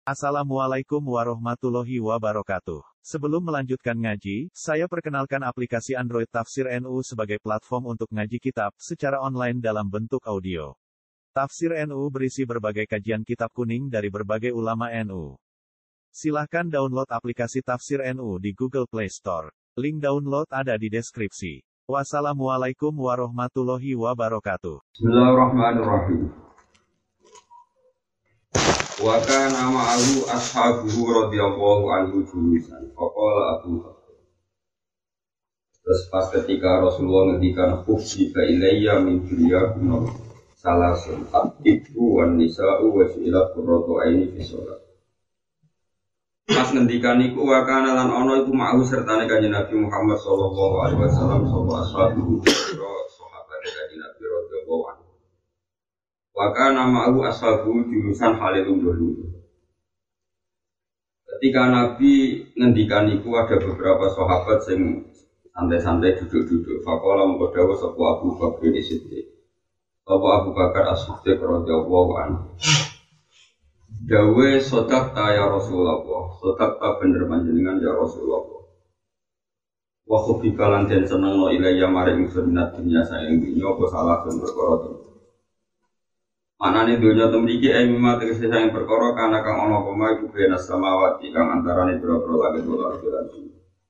Assalamualaikum warahmatullahi wabarakatuh. Sebelum melanjutkan ngaji, saya perkenalkan aplikasi Android Tafsir NU sebagai platform untuk ngaji kitab secara online dalam bentuk audio. Tafsir NU berisi berbagai kajian kitab kuning dari berbagai ulama NU. Silahkan download aplikasi Tafsir NU di Google Play Store. Link download ada di deskripsi. Wassalamualaikum warahmatullahi wabarakatuh. Bismillahirrahmanirrahim. Wa kana ma'ahu ashabuhu radhiyallahu anhu julusan. Faqala Abu Bakar. Terus pas ketika Rasulullah ngendikan khufsifa ilayya min dunyakum salasun at-tibbu wan nisa'u wa su'ilat qurratu aini fi shalat. Pas ngendikan iku wa kana lan ana iku ma'ahu sertane kanjeng Nabi Muhammad sallallahu alaihi wasallam sapa ashabuhu sahabat kanjeng Nabi radhiyallahu anhu. Waka nama Abu Ashabu jurusan Khalilun dulu. Ketika Nabi ngendikan itu ada beberapa sahabat yang santai-santai duduk-duduk. Fakola mengkodawa sebuah Abu Bakar di situ. Abu Bakar As-Siddiq radhiyallahu anhu. Dawe sodakta ya Rasulullah. Sodakta bener panjenengan ya Rasulullah. Wa khubikalan den seneng no ilayya maring sunat dunya sayang dunya apa salah dan perkara. Manane dunya temriki emima tegese sayang perkara kana kang ana apa iku bena samawati kang antarane pira-pira langit lan bumi.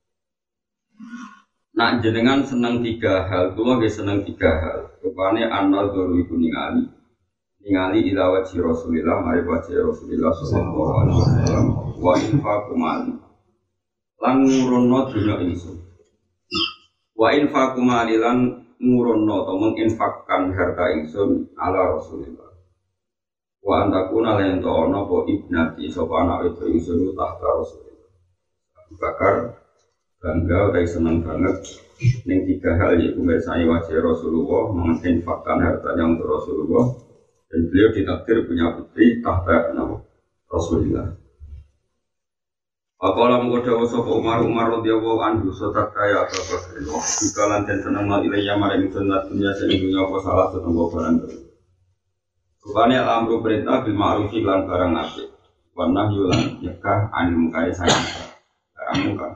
Nak jenengan seneng tiga hal, kula nggih seneng tiga hal. Rupane anal duru iku ningali ila wajhi Rasulillah mari wajhi Rasulillah sallallahu alaihi wasallam wa infaqu mali. Lan ngurono dunya ingsun. Wa infaqu mali lan ngurono to menginfakkan harta ingsun ala Rasulillah. Wa antakuna lan to ana apa ibnati sapa anak itu ingsun tahta Rasulillah. Abu Bakar bangga dan senang banget ning tiga hal yaitu mirsani wajah Rasulullah, menginfakkan hartanya untuk Rasulullah, dan beliau ditakdir punya putri tahta Rasulullah. Apabila mengkodawa sapa Umar radhiyallahu anhu sotak kaya Abu Bakar jika lanten senang ilayya maring sunnah dunya sehingga apa salah setengah barang. Rupanya al-amru perintah bil ma'rufi lan barang apik. Wa nahyu lan nyegah anil munkari sayang barang munkar.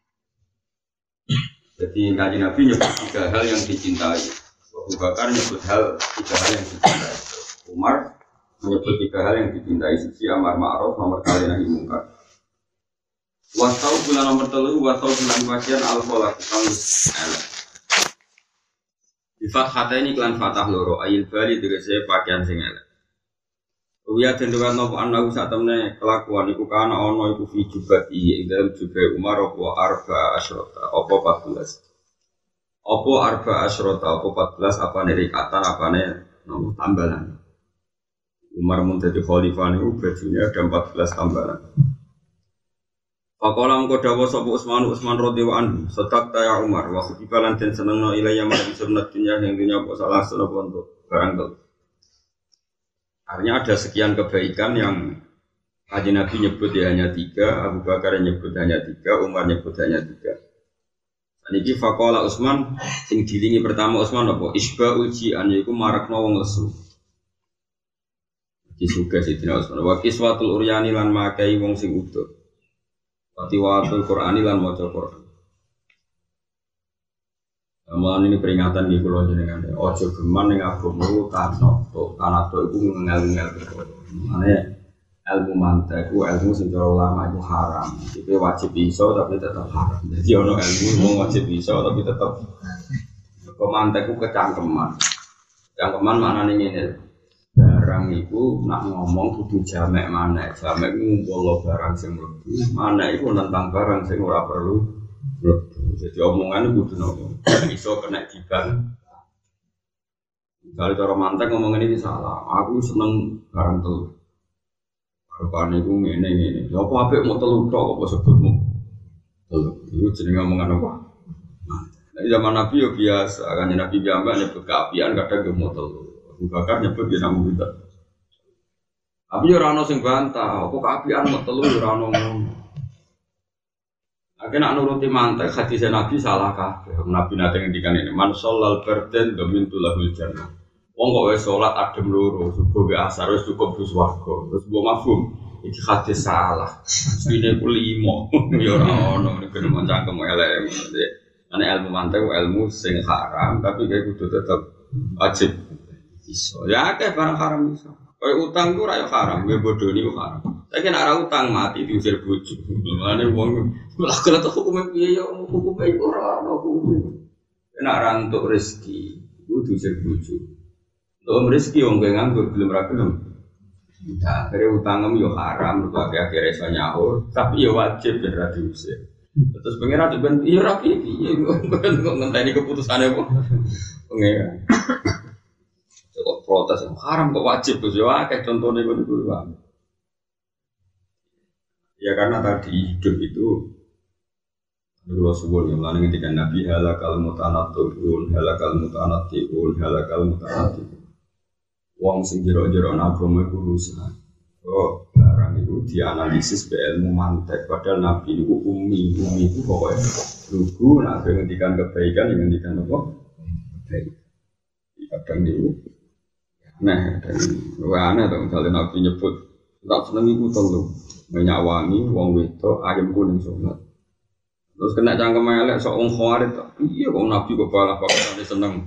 Jadi kanjeng Nabi nyebut tiga hal yang dicintai. Abu Bakar nyebut tiga hal yang dicintai. Umar menyebut tiga hal yang dicintai. Sisi amar ma'ruf, nomor kali nahi munkar. Wasau bulan nomor 3, wasau bulan bagian al-falaq kamus elek. Di fathah ini klan fathah loro ayil bali tegese pakaian sing elek. Uya dendukan nopo anahu sak temne kelakuan iku kana ana iku fi jubati ing dalem jubah Umar apa arba asyrota apa 14. Apa arba asyrota apa 14 apane rikatan apane nopo tambalan. Umar mun dadi khalifah niku bajunya ada 14 tambalan. Pakola mengko dawuh sapa Utsman radhiyallahu anhu, "Sadaqta ya Umar, wa kutibalan den senengno ilayya maring sunnah dunya yang dunya apa salah sunapa untuk barang telu." Artinya ada sekian kebaikan yang Kanjeng Nabi nyebut ya hanya 3, Abu Bakar nyebut hanya 3, Umar nyebut hanya 3. Saniki faqala Utsman sing dilingi pertama Utsman apa? Isba'ul ji'an yaiku marakno wong lesu. Disuga Sidina Utsman. Wa kiswatul uryani lan makai wong sing utuh. Tiwatul Qur'ani lan maca Qur'an. Amalan ini peringatan di pulau jenengan. Ojo geman ning agama tanah itu ngel-ngel. Mane ilmu mantek ilmu sing cara ulama itu haram. Iki wajib iso tapi tetap haram. Jadi ono ilmu wajib iso tapi tetap mantek ku kecangkeman. Cangkeman maknane ngene. Barang itu nak ngomong kudu jamek mana, jamek ngumpul barang sing mlebu, mana itu tentang barang sing ora perlu mlebu. Jadi omongan kudu nopo, iso kena diban. Kalau cara mantek ngomong ini salah, aku seneng barang telu. Rupane iku ngene. Ya apa apik mau telu tok apa sebutmu? Telu. Iku jenenge omongan apa? Nah, zaman Nabi yo biasa, kan Nabi biasa nyebut keapian kadang ge mau telu. Abu Bakar nyebut dia namu kita. Tapi ora ono sing bantah, apa keapian mau telu ora ono ngono. Akhirnya nak nuruti mantek hadis Nabi salah kabeh. Nabi nate ngendikan ini, man shallal bardan dhamintu lahul jannah. Wong kok wis salat adem loro, subuh be asar wis cukup bus warga. Terus mbok mafhum. iki hadis salah. Sepine ku 5. Ya ora ono nek ben cangkem elek. Ane ilmu mantek ilmu sing haram tapi kayak kudu tetep wajib iso. Ya akeh barang haram iso. Kayak utang ku ora haram, gue bodoni ku haram. Saiki nek ora utang mati diusir bojo. Mane wong lha kala to hukume piye ya hukume ora ono hukume. Nek ora entuk rezeki kudu diusir bojo. Untuk rezeki wong kowe nganggur belum ra gelem. Nah, kare utangem yo haram, mergo akhir-akhir iso nyaur, tapi yo wajib ben ra diusir. Terus pengen ada ben iya rapi iya kok ngenteni keputusane kok pengen kok protes haram kok wajib Gus yo akeh contone ngono kuwi ya karena tadi hidup itu dulu subuh yang lalu ketika Nabi halakal mutanatti'un wong sing jero-jero agama iku rusak oh barang itu dianalisis be ilmu mantek padahal Nabi itu umi itu pokoknya lugu nak ngendikan kebaikan yang ngendikan apa baik kadang itu nah dan aneh tuh misalnya Nabi nyebut tak seneng iku telu banyak wangi wong wedok ayam kuning sholat terus kena cangkem elek sok wong khawarit iya kok Nabi kok balah pakai seneng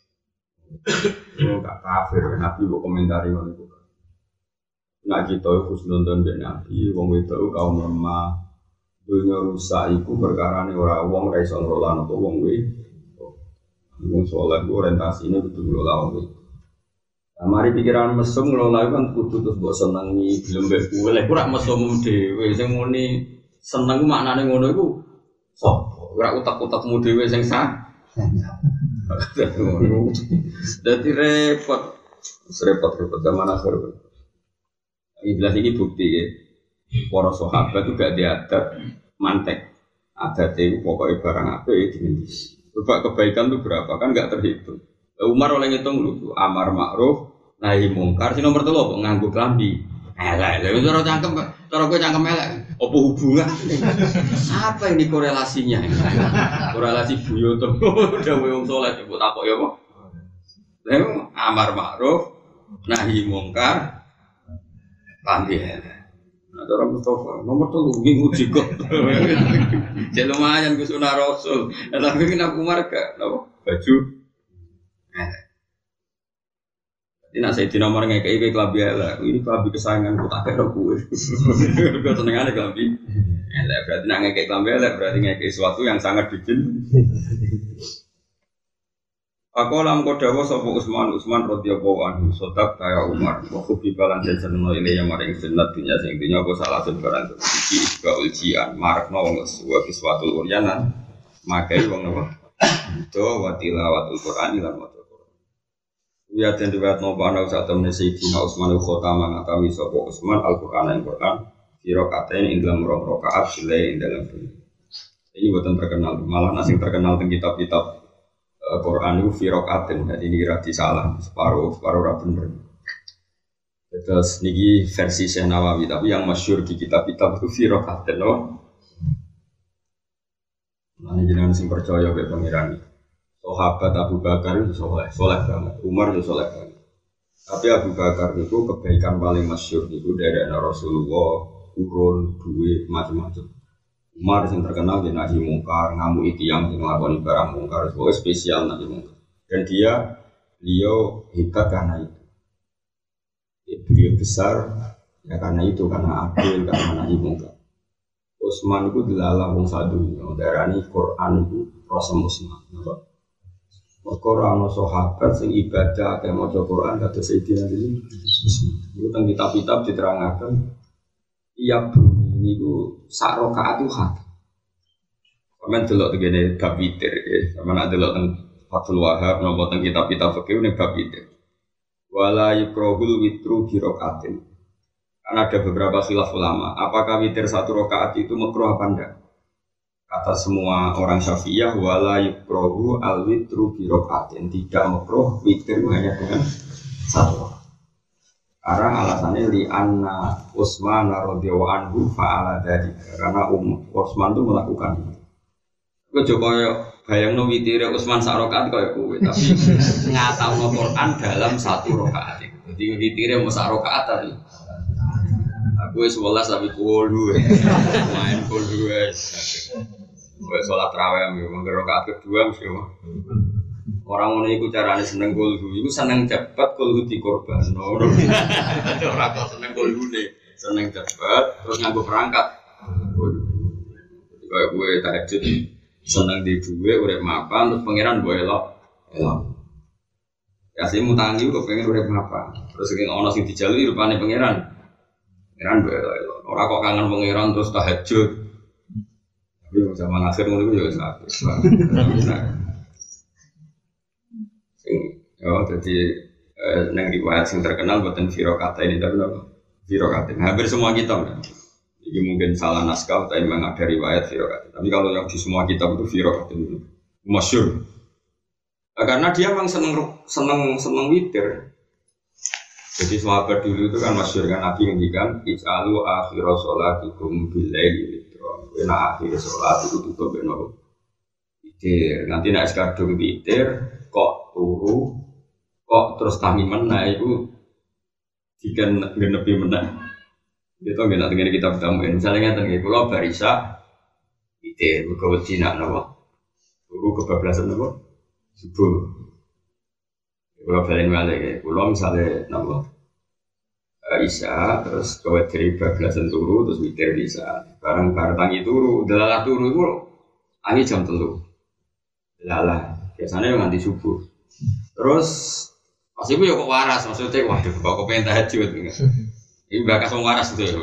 gak kafir Nabi kok komentari ngono iku nak kita husnudon ben Nabi wong wedok kaum lemah dunya rusak iku perkarane ora wong ra iso ngelola apa wong wedok wong saleh orientasine kudu ngelola wong wedok mari pikiran mesum ngelola kan kudu terus mbok senengi gelem mbek kowe lek ora mesum dhewe sing muni seneng maknane ngono iku sapa ora utak-utakmu dhewe sing sah dadi repot zaman akhir. Jelas ini bukti ya. Para sahabat itu gak diadat mantek. Adat itu pokoknya barang apa ya dimentis. Coba kebaikan itu berapa kan gak terhitung. Umar oleh ngitung dulu. Amar ma'ruf nahi mungkar. Si nomor 3 kok nganggo klambi. Elek. Lha cara cangkem cara kowe cangkem elek. Apa hubungan? Apa ini korelasinya? Korelasi buyoto. Dewe wong saleh mbok takok ya apa? Lha amar ma'ruf nahi mungkar Pandi ya. Nah, cara Mustafa nomor 3 nguji kok. Jadi lumayan ke sunah Rasul. Tapi kenapa Umar gak baju? Ini nak saya di nomor ngekei kelambi elek. Ini kelambi kesayangan ku tak kira kue. Gue seneng aja kelambi. Elek berarti nak ngekei kelambi elek berarti ngekei sesuatu yang sangat bikin. Aku lam kodawa sapa Utsman radhiyallahu anhu sodak kaya Umar wa kubi balan den seneno ile yang maring sunnat dunya sing dunya apa salah sebarang iki iba ujian marakno wong suatu uryanan makai wong apa do wa tilawatul Qur'an lan maca Qur'an ya den riwayat nopo ana sak temne Sayyidina Utsman khotama ngatami sapa Utsman Al-Qur'an ing Qur'an sira katen ing dalam rakaat sile ing dalam ini buatan terkenal malah asing terkenal teng kitab-kitab Quran itu firaqatin, jadi ini kira disalah separuh bener. Terus niki versi Syekh Nawawi, tapi yang masyhur di kitab-kitab itu firaqatin, loh. Nanti jenengan sing percaya be pangeran. Sahabat Abu Bakar itu soleh banget, Umar itu soleh banget. Tapi Abu Bakar itu kebaikan paling masyhur itu dari Rasulullah, urun, duit, macam-macam. Umar yang terkenal di nahi mungkar, ngamu yang ngelakoni barang mungkar, sebagai spesial nahi mungkar. Dan beliau hebat karena itu. Beliau besar ya karena itu, karena adil, karena nahi mungkar. Utsman itu dilalah wong sadunya, darani Quran itu rasa Utsman. Quran sahabat sing ibadah kayak maca Quran kata Sayyidina Ali. Itu tentang kitab-kitab diterangkan. Iya bunyi ini ku sak rakaat itu hak. Kamen delok tegene bab witir ya. Kamen nak delok teng Fathul Wahhab napa teng kitab-kitab fikih ne bab witir. Wala yukrahul witru bi rakaatin. Kan ada beberapa khilaf ulama, apakah witir satu rakaat itu makruh apa enggak? Kata semua orang Syafi'iyah wala yukrahu al witru bi rakaatin. Tidak makruh witir hanya dengan satu rakaat. Karena alasannya li anna Utsman radhiyallahu anhu fa'ala dzalik. Karena Utsman itu melakukan itu. Kok Jokowi bayangno witire Utsman sak rakaat kaya kowe, tapi ngatauno Quran dalam satu rakaat. Jadi witire mau sak rakaat tadi. Gue 11 tapi kolu, main kolu guys. Gue sholat tarawih, menggerak rakaat kedua mesti. Orang ngono iku carane seneng kolu, iku seneng cepet kolu dikorban. Ora kok seneng kolune, seneng cepet terus nganggo perangkat. Kayak gue tahajud seneng di duwe urip mapan terus pangeran gue elok. Ya sih mutangi kok pengen urip mapan. Terus sing ana sing dijaluki rupane pangeran. Pangeran gue elok. Ora kok kangen pangeran terus tahajud. Tapi zaman akhir ngono iku ya sakit. Jadi nang riwayat yang terkenal buatan firokata ini tapi apa? Firokata. Hampir semua kitab. Ini mungkin salah naskah tapi memang ada riwayat firokata. Tapi kalau yang di semua kitab itu firokata itu masyhur. Karena dia memang seneng witir. Jadi sahabat dulu itu kan masyhur kan Nabi ngendikan ij'alu akhira sholatikum bil-laili witron. Nah akhir sholat itu tutup beno witir. Nanti nek kadung witir kok turu kok terus tangi menah itu dikan genepi menah itu nggak nanti kita bertamuin misalnya nggak kalau barisa itu kewajiban apa turu kebablasan apa subuh kalau balen balik kalau misalnya apa isya terus kewajiban bablasan turu terus witir isya barang tangi turu delalah turu itu tangi jam 3 delalah biasanya nganti subuh terus pas itu ya kok waras, maksudnya waduh kok pengen tahajud ini bakas orang waras itu ya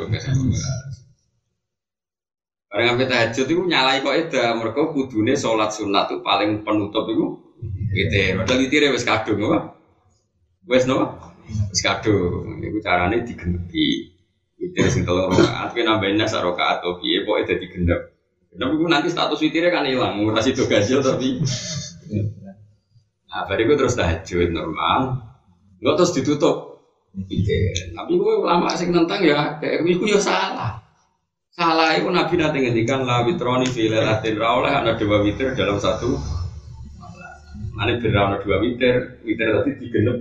barang sampai tahajud itu nyalai kok eda mereka kudune sholat sunat itu paling penutup itu gitu, padahal witirnya wis kadung apa? Wis no? Wis kadung, itu caranya digenepi witir sing 3 rakaat, tapi nambahin nasa rakaat atau piye kok eda digenep tapi nanti status witirnya kan hilang, murah itu gajil tapi nah, bariku terus tahajud normal, nggak terus ditutup. Tapi gue lama sing nentang ya, kayak itu ya salah. Salah itu Nabi nanti ngendikan la witroni fi lailatin rauleh ada 2 witir dalam satu. Mana berawal 2 witir tadi digenep.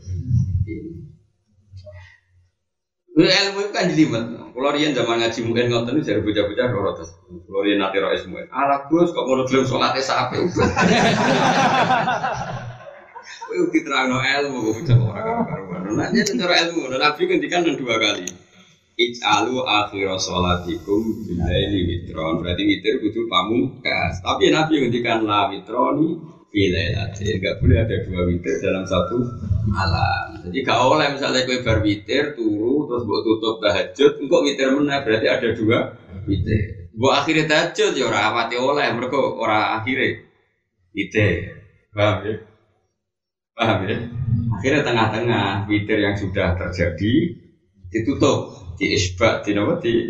Ilmu itu kan jelimet. Kalau rian zaman ngaji mungkin ngonten itu jadi bocah-bocah rorotes. Kalau rian nanti rois mungkin. Alah Gus, kok mau belum sholatnya sampai udah. Wih diterang no ilmu, bocah orang karuan. Nanya cara ilmu, Nabi ngendikan 2 kali. Ij'alu akhira sholatikum bil-laili witron. Berarti witir kudu pamungkas. Tapi Nabi ngendikan la witroni bil-lailati. Enggak boleh ada 2 witir dalam satu malam. Jadi gak oleh misalnya kowe bar witir turu terus mbok tutup tahajud, engko witir meneh berarti ada 2 witir. Mbok akhire tahajud ya ora awate oleh mergo ora akhire witir. Paham ya? Paham ya? Akhirnya tengah-tengah witir yang sudah terjadi ditutup, diisbat, digenepi,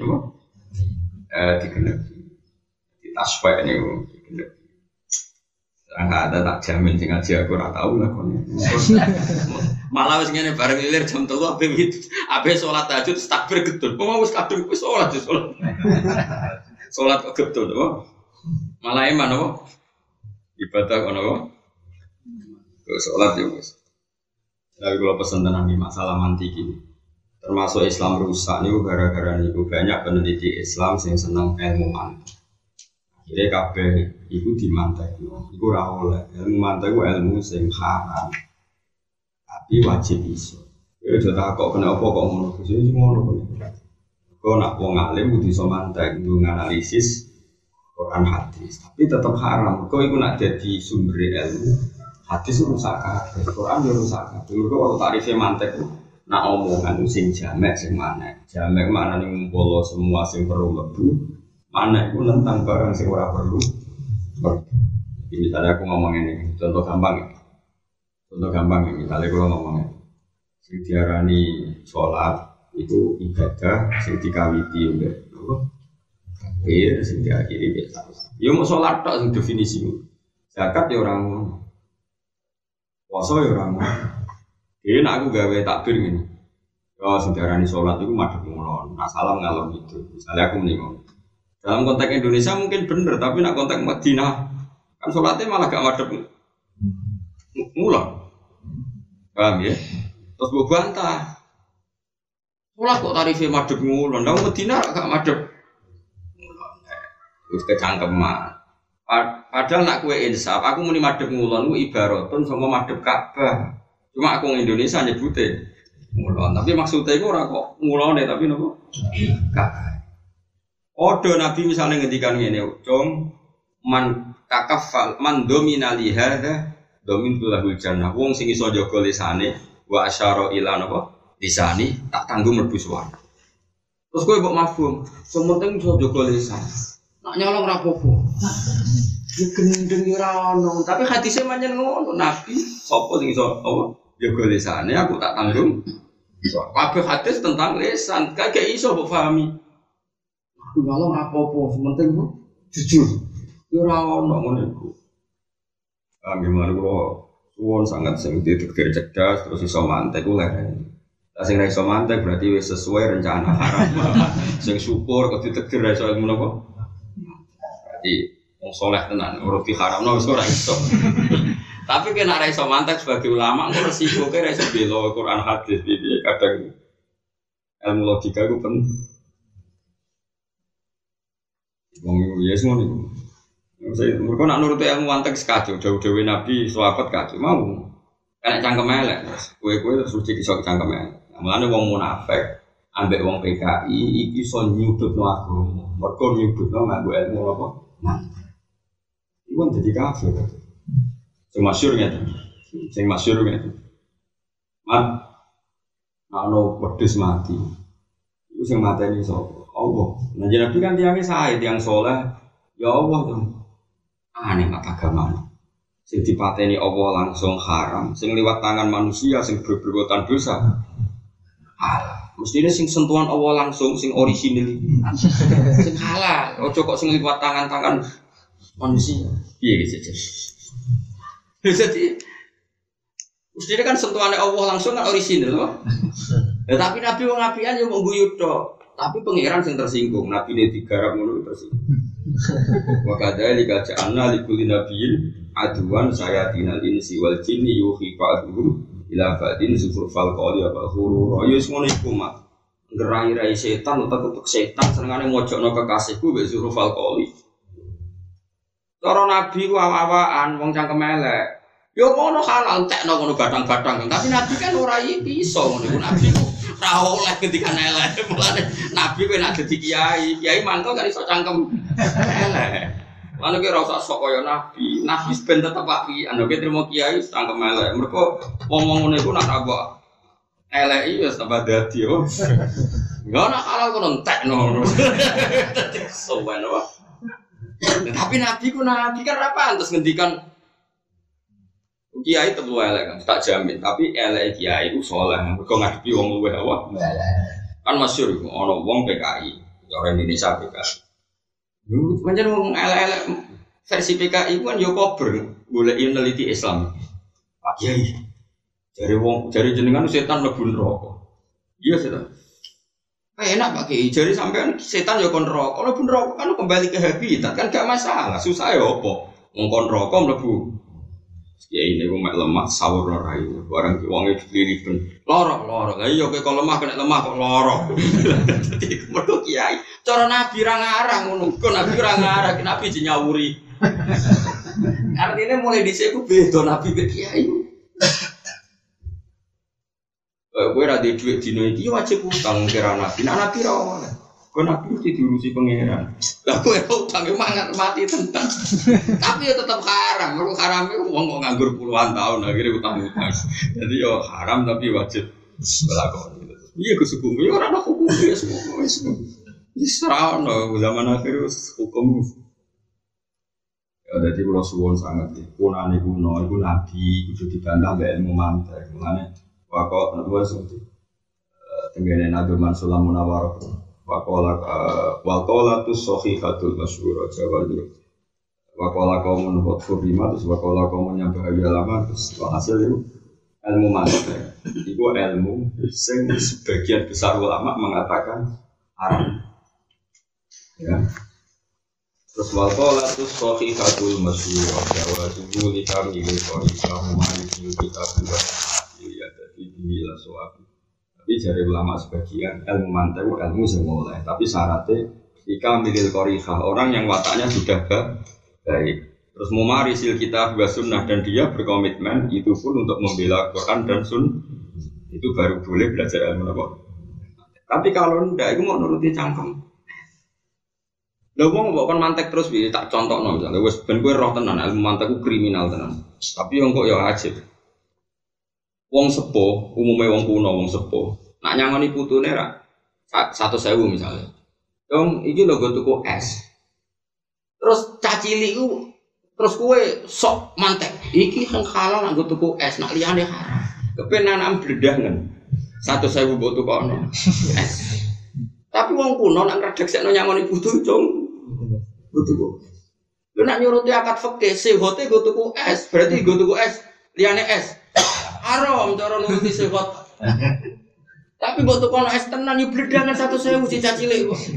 ditasfek ini digenepi. Enggak ada tak jamin sing ngaji aku ora tau lah kon. Malah wis ngene bareng ilir jam 3 ape salat tahajud takbir gedul. Wong wis kadung wis salat. Salat kok gedul apa? Malah iman apa? Ibadah kono apa? Salat ya wis. Tapi kalau pesen tenan iki masalah mantik iki. Termasuk Islam rusak niku gara-gara niku banyak peneliti Islam sing seneng ilmu mantik. Jadi kabeh iku dimantekno. Iku ora oleh. Ilmu mantek ku ilmu sing haram. Tapi wajib iso. Ya jatah kok kena apa kok ngono. Wis ngono kok. Kok nak wong alim kudu iso mantek, kudu nganalisis Quran hadis. Tapi tetap haram. Kok iku nak dadi sumber ilmu. Hadis rusak kabeh. Quran yo rusak kabeh. Kok waktu tarife mantek nak omongan sing jamek sing maneh. Jamek maknane ngumpul semua sing perlu mlebu. Mana itu tentang barang yang ora perlu. Jadi misalnya aku ngomong ini, contoh gampang ya. Misalnya aku ngomong ini, sing diarani sholat itu ibadah, sing dikawiti udah, sing diakhiri biasa. Ya mau sholat tak sing definisi. Zakat ya orang, puasa ya orang. Jadi nak aku gawe takbir gini. Kalau sing diarani sholat itu madhep ngulon, nah salam ngalor gitu. Misalnya aku mendingan. Dalam konteks Indonesia mungkin benar, tapi nak konteks Madinah kan sholatnya malah gak madep ngulon, paham ya? Terus gue bantah, Sekolah kok tarifnya madhep ngulon, ndak Medina gak madhep. Wis kecangkeman. Padahal nak kue insaf, aku muni madhep ngulon ku ibaratun sama madhep Ka'bah. Cuma aku Indonesia nyebute ngulon, tapi maksudnya itu ora kok ngulone tapi nopo? Ka'bah. Odo Nabi misalnya ngendikan ngene, "Cung man takafal man dominali hadza domin tulahul jannah." Wong sing iso jaga lisane wa asyara ila napa? Lisani tak tanggung mlebu swarga. Terus kowe mbok mafhum, sementing iso jaga lisan. Nak nyolong ra apa-apa. Ya gendeng ora ono, tapi hadise pancen ngono, Nabi sapa sing iso apa? Jaga lisane aku tak tanggung. Kabeh hadis tentang lisan, kagak iso mbok pahami. Aku nyolong ra apa-apa, sementing jujur. Ya ora ono ngono iku. Gimana kula suwon sangat sing ditetir cerdas terus iso mantek ku leren. Lah sing ra iso mantek berarti wis sesuai rencana haram. Sing syukur kok ditetir ra iso ngono kok. Berarti wong saleh tenan urut di haramno wis ora iso. Tapi kena ra iso mantek sebagai ulama kok resiko ke ra iso bela Quran hadis iki kadang ilmu logika ku penting. Wong yes ngono iku. Mereka nak nuruti ilmu mantek sekacau, jauh-jauh Nabi, sahabat kacau, mau kena cangkem elek, kue-kue terus suci kisah cangkem elek. Mulanya wong munafik, ambek wong PKI, iki so nyudut no agama, mereka nyudut no nganggo ilmu apa? Mantek. Iku jadi kafir. Sing masyhur ngene. Mat, ana wedhus mati. Iku sing mateni sapa? Allah. Nah Nabi kan tiangnya sae, tiang soleh, ya Allah tuh. Aneh mak agama. Sing dipateni Allah langsung haram, sing liwat tangan manusia sing berperbuatan dosa. Mestinya sing sentuhan Allah langsung sing orisinil. Sing halal, ojo kok sing liwat tangan-tangan manusia. Piye gitu. Jadi mestinya kan sentuhannya Allah langsung kan orisinil loh. Ya, tapi Nabi wong apian yo mung guyu tok. Tapi pangeran sing tersinggung, Nabi ne digarap ngono tersinggung. Wa kadzalika ja'alna likulli nabiyyin aduwan sayatinal insi wal jinni yuhi ba'dhum ila ba'din zufrufal qawli wa ghurura. Ya wis ngono iku mak. Ngerai-rai setan utek-utek setan senengane mojokno kekasihku mbek zufrufal qawli. Cara Nabi ku awak-awakan wong cangkem elek. Ya ngono halal tekno ngono batang-batang. Tapi Nabi kan ora iso ngono iku Nabi. Ora oleh ketika elek. Mulane Nabi kowe nek dadi kiai mangko kan iso cangkem elek. Lan iki ora usah sok kaya Nabi. Nabi ben tetep api. Anu ki trimo kiai cangkem elek. Mergo wong-wong ngene iku nek apa elek iki wis tambah dadi yo. Enggak nak halal kono entekno. Sowan apa? Tapi Nabi kan ora pantes ngendikan kiai tetep elek kan, tak jamin. Tapi elek kiai itu soleh, mergo ngadepi wong luweh apa? Kan masyhur iku ana wong PKI, orang Indonesia PKI. Yo pancen wong elek-elek versi PKI ku kan yo kober, golek neliti Islam. Pak Kiai. Jari jenengan setan mlebu neraka. Iya setan. Enak Pak Kiai, jari sampean setan yo kon neraka. Mlebu neraka kan kembali ke habitat kan gak masalah. Susah yo apa? Wong kon neraka mlebu ya ini gue mek lemah sawur ora itu barang wonge diliriben lorok lah iya kowe kok lemah kena lemah kok lorok dadi mergo kiai cara Nabi ra ngarang ngono kok Nabi ra ngarang Nabi dinyawuri artinya mulai dhisik ku beda Nabi ke kiai kowe ra duwe dhuwit dino iki wajib utang kira Nabi Nabi ra oleh kok Nabi mesti diurusi pangeran. Lah kowe utang mangan mati tenan. Tapi ya tetap haram. Mergo harame wong kok nganggur puluhan tahun akhirnya utang-utang. Jadi yo haram tapi wajib lakoni. Iya kesukumu ya ora ana hukum ya semua. Wis ora ono zaman akhir hukum. Ya dadi kula suwun sanget iki. Punane kuno iku nabi kudu dibantah mbek ilmu mantek. Mulane wakok wis tenggene Nabi Mansur Munawwarah Wakola tu sohihatul masyhur Jawa itu. Wakola kaum menurut firman terus wakola kaum yang bahagia lama terus hasil itu ilmu mantek. Itu ilmu sing sebagian besar ulama mengatakan haram. Ya. Terus wakola tu sohihatul masyhur Jawa itu likami kami kaum maliki kita buat ya jadi bila soal Tapi dari ulama sebagian ilmu mantek ilmu semula. Tapi syaratnya jika milil qorihah orang yang wataknya sudah baik. Terus memarisil kita buat sunnah dan dia berkomitmen itu pun untuk membela Quran dan Sunnah itu baru boleh belajar ilmu apa. Tapi kalau tidak, itu mau nuruti cangkem. Lha wong mbok kon mantek terus piye tak contohno misalnya wis ben kowe roh tenan ilmu mantek ku kriminal tenan. Tapi yo kok yo ajib. Wong sepuh, umume wong kuno wong sepuh. Nak nyangoni putune ra 100.000 misalnya. Dong iki lho go tuku es. Terus cacili ku terus kowe sok mantek. Iki sing halal nak go tuku es, nak liyane haram. Kepenan bledangen. 100.000 mbok tukono. Es. Tapi wong kuno nak ngredeksekno nyangoni putu cung. Tuku. Lu nak nyuruti akad fikih, sehote go tuku es, berarti go tuku es, liyane es. Haram cara nuruti sehot. Tapi mbok tukono es tenan yo bledangan 100.000 cicak cilik kok.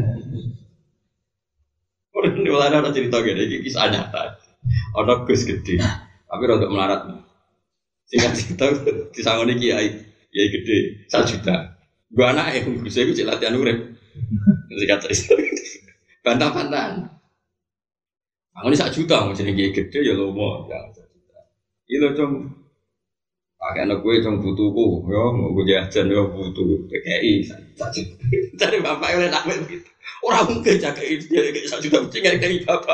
Ora ada cerita gede iki kisah nyata. Ana Gus gede, tapi rada melarat. Singkat cerita disangoni kiai gede 1 juta. Gua anake Gus iku cek latihan urip. Singkat cerita. Bantah-bantahan. Angone 1 juta mau jenenge gede ya lomo ya 1 juta. Iki lho cung. Pakai anak gue cung butuhku, yo mau gue jajan yo butuh PKI 1 juta. Dari bapak oleh nak begitu. Orang mungkin jaga dia kayak 1 juta mesti dari bapak.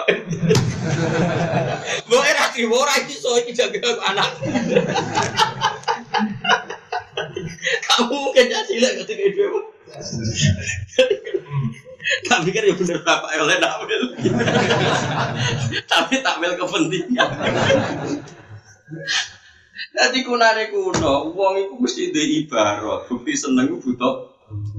Boleh rati orang itu so iki jaga anak. Kamu mungkin jadi lah ketika itu. Tapi kan ya bener bapak oleh nampil. Tapi tampil kepentingan. Jadi kunane kuno, uang itu mesti di ibarat. Bukti seneng itu butuh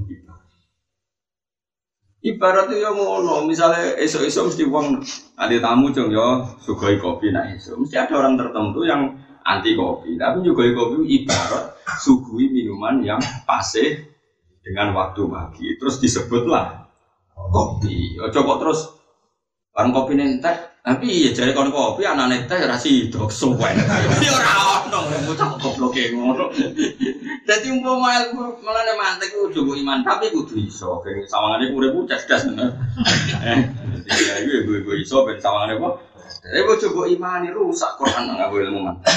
ibarat itu yang ngono. Misalnya esok-esok mesti uang ada tamu jong yo sugoi kopi nah esok. Mesti ada orang tertentu yang anti kopi. Tapi juga kopi ibarat sugui minuman yang paseh dengan waktu pagi. Terus disebutlah kopi. Coba terus barang kopi nentek. Tapi ya jadi kon kopi anane teh ra sido suwen. Ya ora ono bocah gobloke ngono. Dadi umpama ilmu melane mantek kudu mbok iman tapi kudu iso. Ben sawangane urip cerdas bener. Ya iku iso ben sawangane apa? Dadi bojo mbok imani rusak Quran nang ilmu mantek.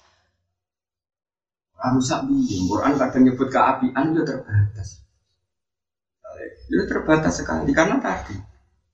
Rusak piye? Quran kadang nyebut keapian yo terbatas. Ya terbatas sekali karena tadi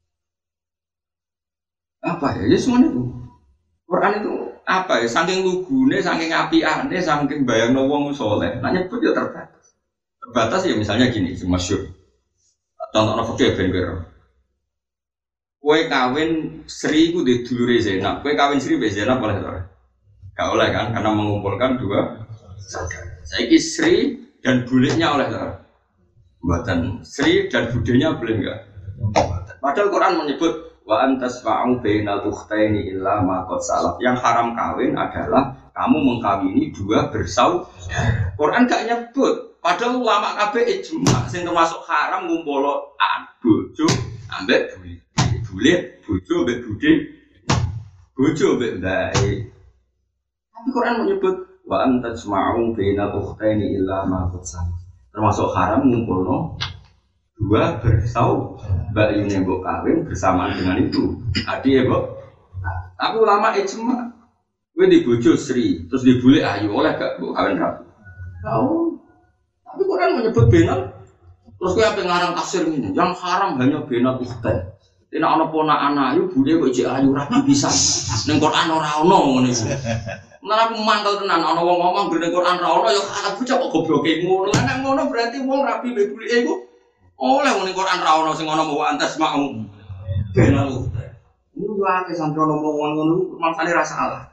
apa ya? Ya semuanya itu. Quran itu apa ya? Saking lugune, saking apiane, saking bayangno wong saleh. Nah nyebut ya terbatas. Terbatas ya misalnya gini, masyhur. Contohnya fikih ben kira. Kowe kawin Sri ku di dulure Zainab. Kowe kawin Sri mbek Zainab boleh ora? Gak oleh kan karena mengumpulkan dua saudara. Saiki Sri dan buliknya oleh ora? Mboten. Sri dan budenya boleh enggak? Padahal Quran menyebut wa antas fa'u bainal ukhtaini illa ma qad salaf. Yang haram kawin adalah kamu mengkawini dua bersaudara. Quran gak nyebut. Padahal ulama kabeh ijma sing termasuk haram ngumpul bojo ambek bulit, bojo ambek budhe, bojo ambek ndae. Tapi Quran menyebut wa antas fa'u bainal ukhtaini illa ma qad salaf. Termasuk haram ngumpulno dua bersaudara, mbak Yune mbok kawin bersamaan dengan itu, adik ya mbok. Tapi ulama ijma, gue di bojo Sri, terus dibully ayu oleh gak mbok kawin rapi. Tahu? Tapi Quran menyebut benal, terus gue apa ngarang tafsir ini, yang haram hanya benal ukhtan. Tidak ada ponakan ayu, bude kok ijek ayu rapi bisa. Neng Quran ora ono ngono iku. Malah aku mantel tenan, ana wong ngomong neng Quran ora ono, ya aku cok gobloke ngono. Nek ngono berarti wong rapi mbek bulike iku oleh muni Quran ra ono sing ana mau antas mau. Benal. Ini wae sampe ono wong ngono maksane ra salah.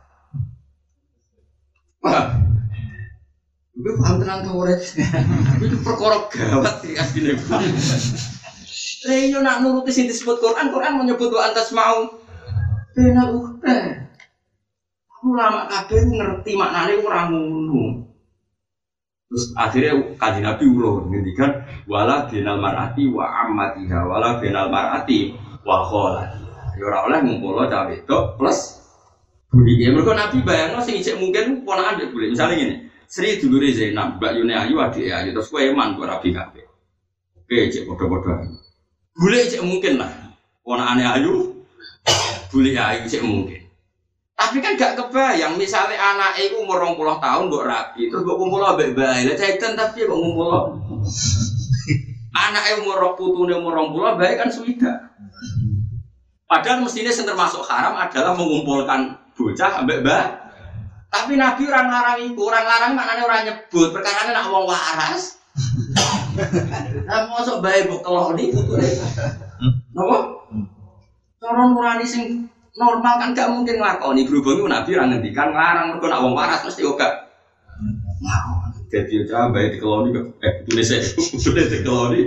Iku paham tenan to ora? Iku perkara gawat iki asline. Reyo nak nuruti sing disebut Quran, Quran menyebut wa antas mau. Benal ukhta. Ulama kabeh ngerti maknane ora ngono. Terus akhirnya Kanjeng Nabi ulo ngendikan wala binal mar'ati wa ammatiha wala binal mar'ati wa kholatiha. Ya ora oleh ngumpulno cah wedok plus bulike. Mergo Nabi bayangno sing ijek mungkin ponakan mbek bulik. Misale ngene, Sri dulure Zainab, Mbak Yune Ayu adike Ayu terus kowe eman kok rabi kabeh. Oke, cek padha-padha. Bule cek mungkin lah. Ponakane Ayu, bule Ayu cek mungkin. Tapi kan gak kebayang misalnya anake iku umur 20 tahun mbok rabi, terus mbok kumpul ambek bae. Lah cedan tapi kok ngumpul. Anake umur putune umur 20 bae kan suwida. Padahal mestinya yang termasuk haram adalah mengumpulkan bocah ambek bae. Tapi Nabi orang larang itu, orang larang maknanya orang nyebut, perkara nak wong waras. Nah, mosok bae mbok keloni putune. Napa? Cara nurani sing normal kan gak mungkin nglakoni, berhubung Nabi ora ngendikan larang mergo nak wong waras mesti ora. Nah, jadi aja bae dikeloni putune sik, putune dikeloni.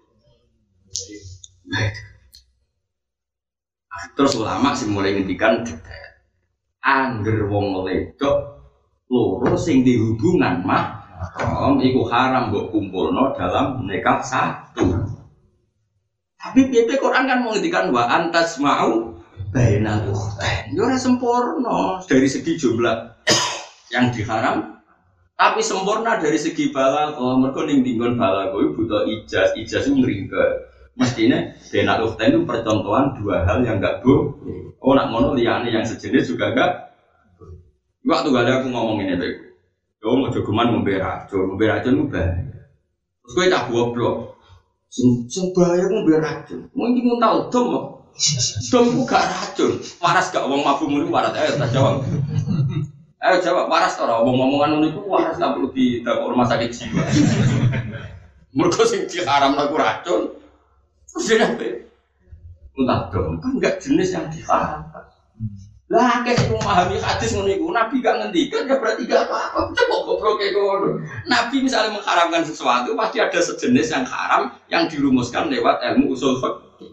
Terus ulama sing mulai ngendikan detail. Angger wong wedok loro sing dihubungan mahram iku haram mbok kumpulno dalam nikah satu. Tapi piye Quran kan mau ngendikan wa antas mau bainal ukhtain. Yo ora sempurna dari segi jumlah yang diharam, tapi sempurna dari segi balaghah. Mergo ning dinggon balaghah iku butuh ijaz itu ngringkel. Mestinya bainal ukhtain itu percontohan dua hal yang enggak boleh. Oh nak ngono liyane yang sejenis juga enggak. Waktu gak ada aku ngomong ini tuh. Yo mau jogeman ngombe racun bahaya. Terus kowe tak goblok. Sing bahaya ngombe racun. Mungkin mun tau dom kok. Dom ku gak racun. Waras gak wong mabuk mulu waras ayo tak jawab. Ayo jawab waras ora omong-omongan ngono iku waras tak perlu dibawa rumah sakit jiwa. Mergo sing diharamno ku racun. Terus dene entah dong, kan enggak jenis yang diharamkan. Lah akeh sing memahami hadis ngono iku, Nabi gak ngendikan ya berarti gak apa-apa. Coba goblok kayak ngono. Nabi misalnya mengharamkan sesuatu pasti ada sejenis yang haram yang dirumuskan lewat ilmu usul fikih.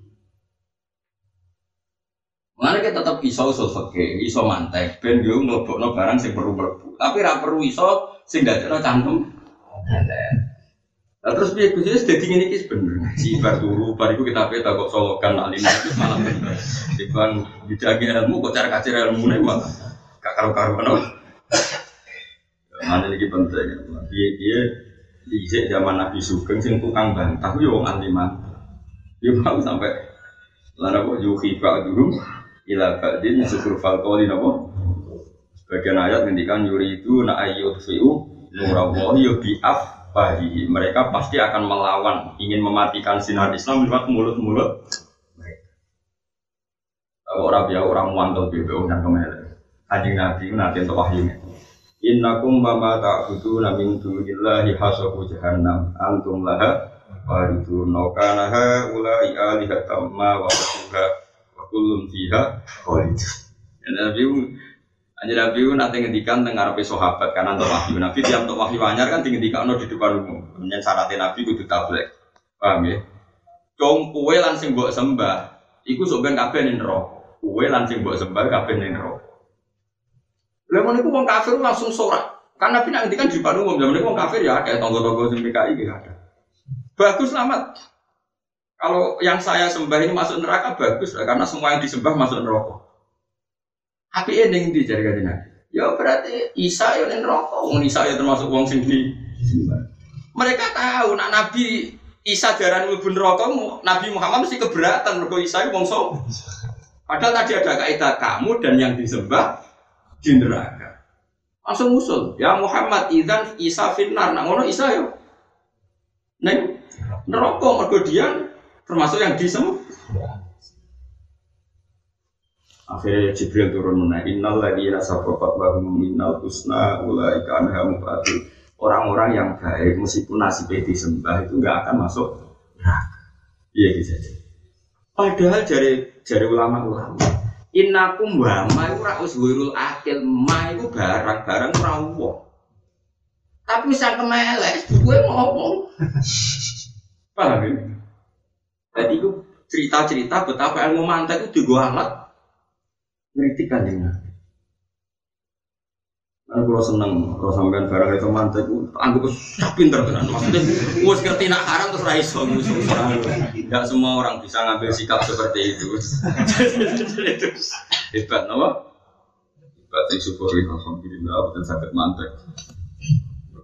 Mana kita tetap iso usul fikih, iso mantek ben yo mlebokno barang sing perlu mlebu. Tapi ra perlu iso sing dadekno cangkem. Nah, terus piye Gus wis dadi ngene iki bener. Si bar turu bar iku kita peta kok solokan alim itu malah bener. Dibang dijagi ilmu kok cara kacir ilmune malah gak karo-karuan. Mana iki penting. Piye-piye dhisik zaman Nabi Sugeng sing tukang bantah yo wong aliman. Yo mau sampai lan kok yuhi ba'dhum ila ba'din syukur falqoli napa. Bagian ayat ngendikan yuri itu na ayyudfi'u nurallahi bi'af bahi. Mereka pasti akan melawan, ingin mematikan sinar Islam lewat mulut-mulut mereka. Orang muantel BBO dan kemana? Kanjeng Nabi nanti untuk wahyunya. Innakum mama ta'buduna min dunillahi hasabu jahannam antum laha waridun kana ulai alihatam ma wa wa kullun fiha khalid. Nabi nanti ngendikan tengah ngarepe sahabat karena untuk wahyu. Nabi tiap untuk wahyu anyar kan ngendikano di depan umum. Kemudian syaratnya Nabi kudu tablek. Paham ya? Dong kowe lan sing mbok sembah iku sok ben kabeh ning neraka. Kowe lan sing mbok sembah kabeh ning neraka. Lha ngono iku wong kafir langsung sorak. Kan Nabi nak ngendikan di depan umum, zaman iku wong kafir ya kayak tonggo-tonggo sing PKI iki ada. Bagus selamat. Kalau yang saya sembah ini masuk neraka bagus karena semua yang disembah masuk neraka. Tapi ending di jari kajian Nabi. Ya berarti Isa yang neraka. Wong Isa ya termasuk wong sing di. Mereka tahu nak Nabi Isa darani mlebu neraka, Nabi Muhammad mesti keberatan mergo Isa wong sok. Padahal tadi ada kaidah kamu dan yang disembah di neraka. Langsung usul, ya Muhammad idzan Isa finnar. Nak ngono Isa yo. Neng neraka mergo dia termasuk yang disembah. Akhirnya Jibril turun menaik innal ladzina sabaqat lahum minnal husna ulaika anha mubadun. Orang-orang yang baik meskipun nasibnya disembah itu enggak akan masuk neraka. Iya gitu saja. Padahal jari ulama-ulama innakum wa ma ora uswirul akil ma itu barang-barang rawuh. Tapi sang kemelek gue ngomong. Paham ya? Jadi itu cerita-cerita betapa ilmu mantek itu digo alat ngeritik kan ya. Nah, kalau seneng, kalau sampean barang itu mantek, anggap pinter kan. Maksudnya, gue ngerti nak haram terus raiso. Tidak semua orang bisa ngambil sikap seperti itu. Itu hebat, apa? Hebat yang syukuri alhamdulillah dan sakit mantek.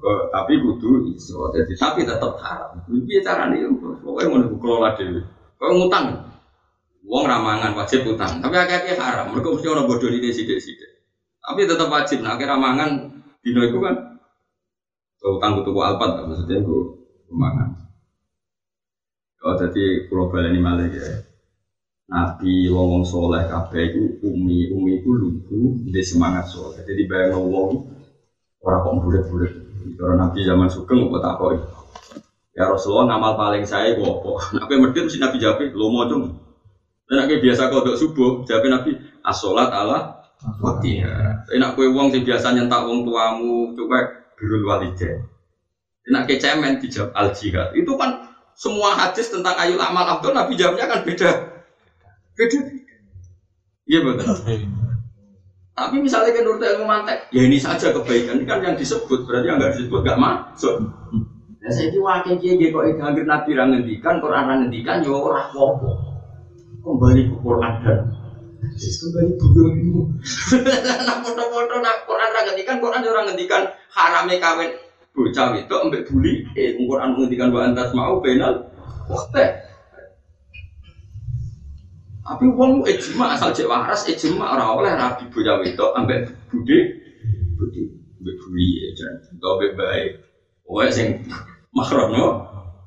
Tapi kudu iso. Jadi tapi tetap haram. Piye carane yo? Pokoke ngono kelola dhewe. Kok ngutang. Wong ramangan wajib utang, tapi akeh-akeh haram. Mergo mesti ora bodho dine sithik-sithik. Tapi tetap wajib nek ramangan dino iku kan utang tuku alpat maksudnya iku ramangan. Oh jadi kula baleni malih ya. Nabi wong soleh kabeh iku umi iku lugu ndek semangat soleh. Jadi bayang wong ora kok bulet-bulet. Cara Nabi zaman sugeng kok takoki. Ya Rasulullah ngamal paling saya iku apa? Nek medhit mesti Nabi jawab lomo cung. Nek biasa kodok subuh jawab Nabi as-sholat ala waqtiha. Nek kowe wong sing biasa nyentak wong tuamu cuek birrul walidain. Nek cemen dijawab al-jihad. Itu kan semua hadis tentang ayul amal afdal Nabi jawabnya kan beda. Iya betul. Tapi misalnya kan nurut ilmu mantek, ya ini saja kebaikan ini kan yang disebut berarti yang nggak disebut nggak masuk. Nah saya diwakil kiai kok hampir Nabi rangendikan, Quran rangendikan, yo orang wopo. Kembali ke Quran dan kembali bujurmu. Nak foto-foto nak Quran rangendikan, Quran orang rangendikan harame kawin bocah itu ambek buli. Quran mengendikan wa antas mau penal. Waktu. Tapi wong ijma asal cek waras ijma ora oleh rabi bocah wedok ambek budhe ambek buli jan go bae wae sing makrono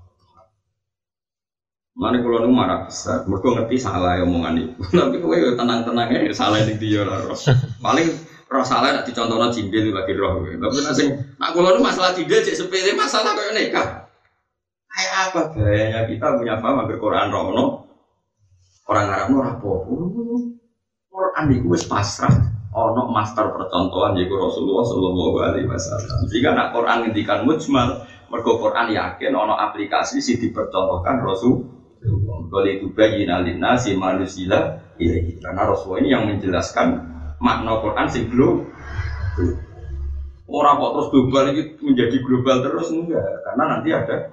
mane kula nu marah besar mergo ngerti salah omongan iku tapi kowe yo tenang-tenang ae salah ning dia ora paling roh salah nek dicontohno cindil lagi roh tapi nek sing nak kula nu masalah cindil cek sepele masalah koyo nikah kayak apa gayanya kita punya paham agar Quran rono orang Arab ora apa-apa. Quran iku wis pasrah ana master percontohan yaiku Rasulullah sallallahu alaihi wasallam. Jika nak Quran ngendikan mujmal, mergo Quran yakin ana aplikasi sing dipercontohkan Rasulullah. Qul itu bayyinal linnasi manusila ilahi. Karena Rasulullah ini yang menjelaskan makna Quran sing global. Ora kok terus global ini menjadi global terus enggak, karena nanti ada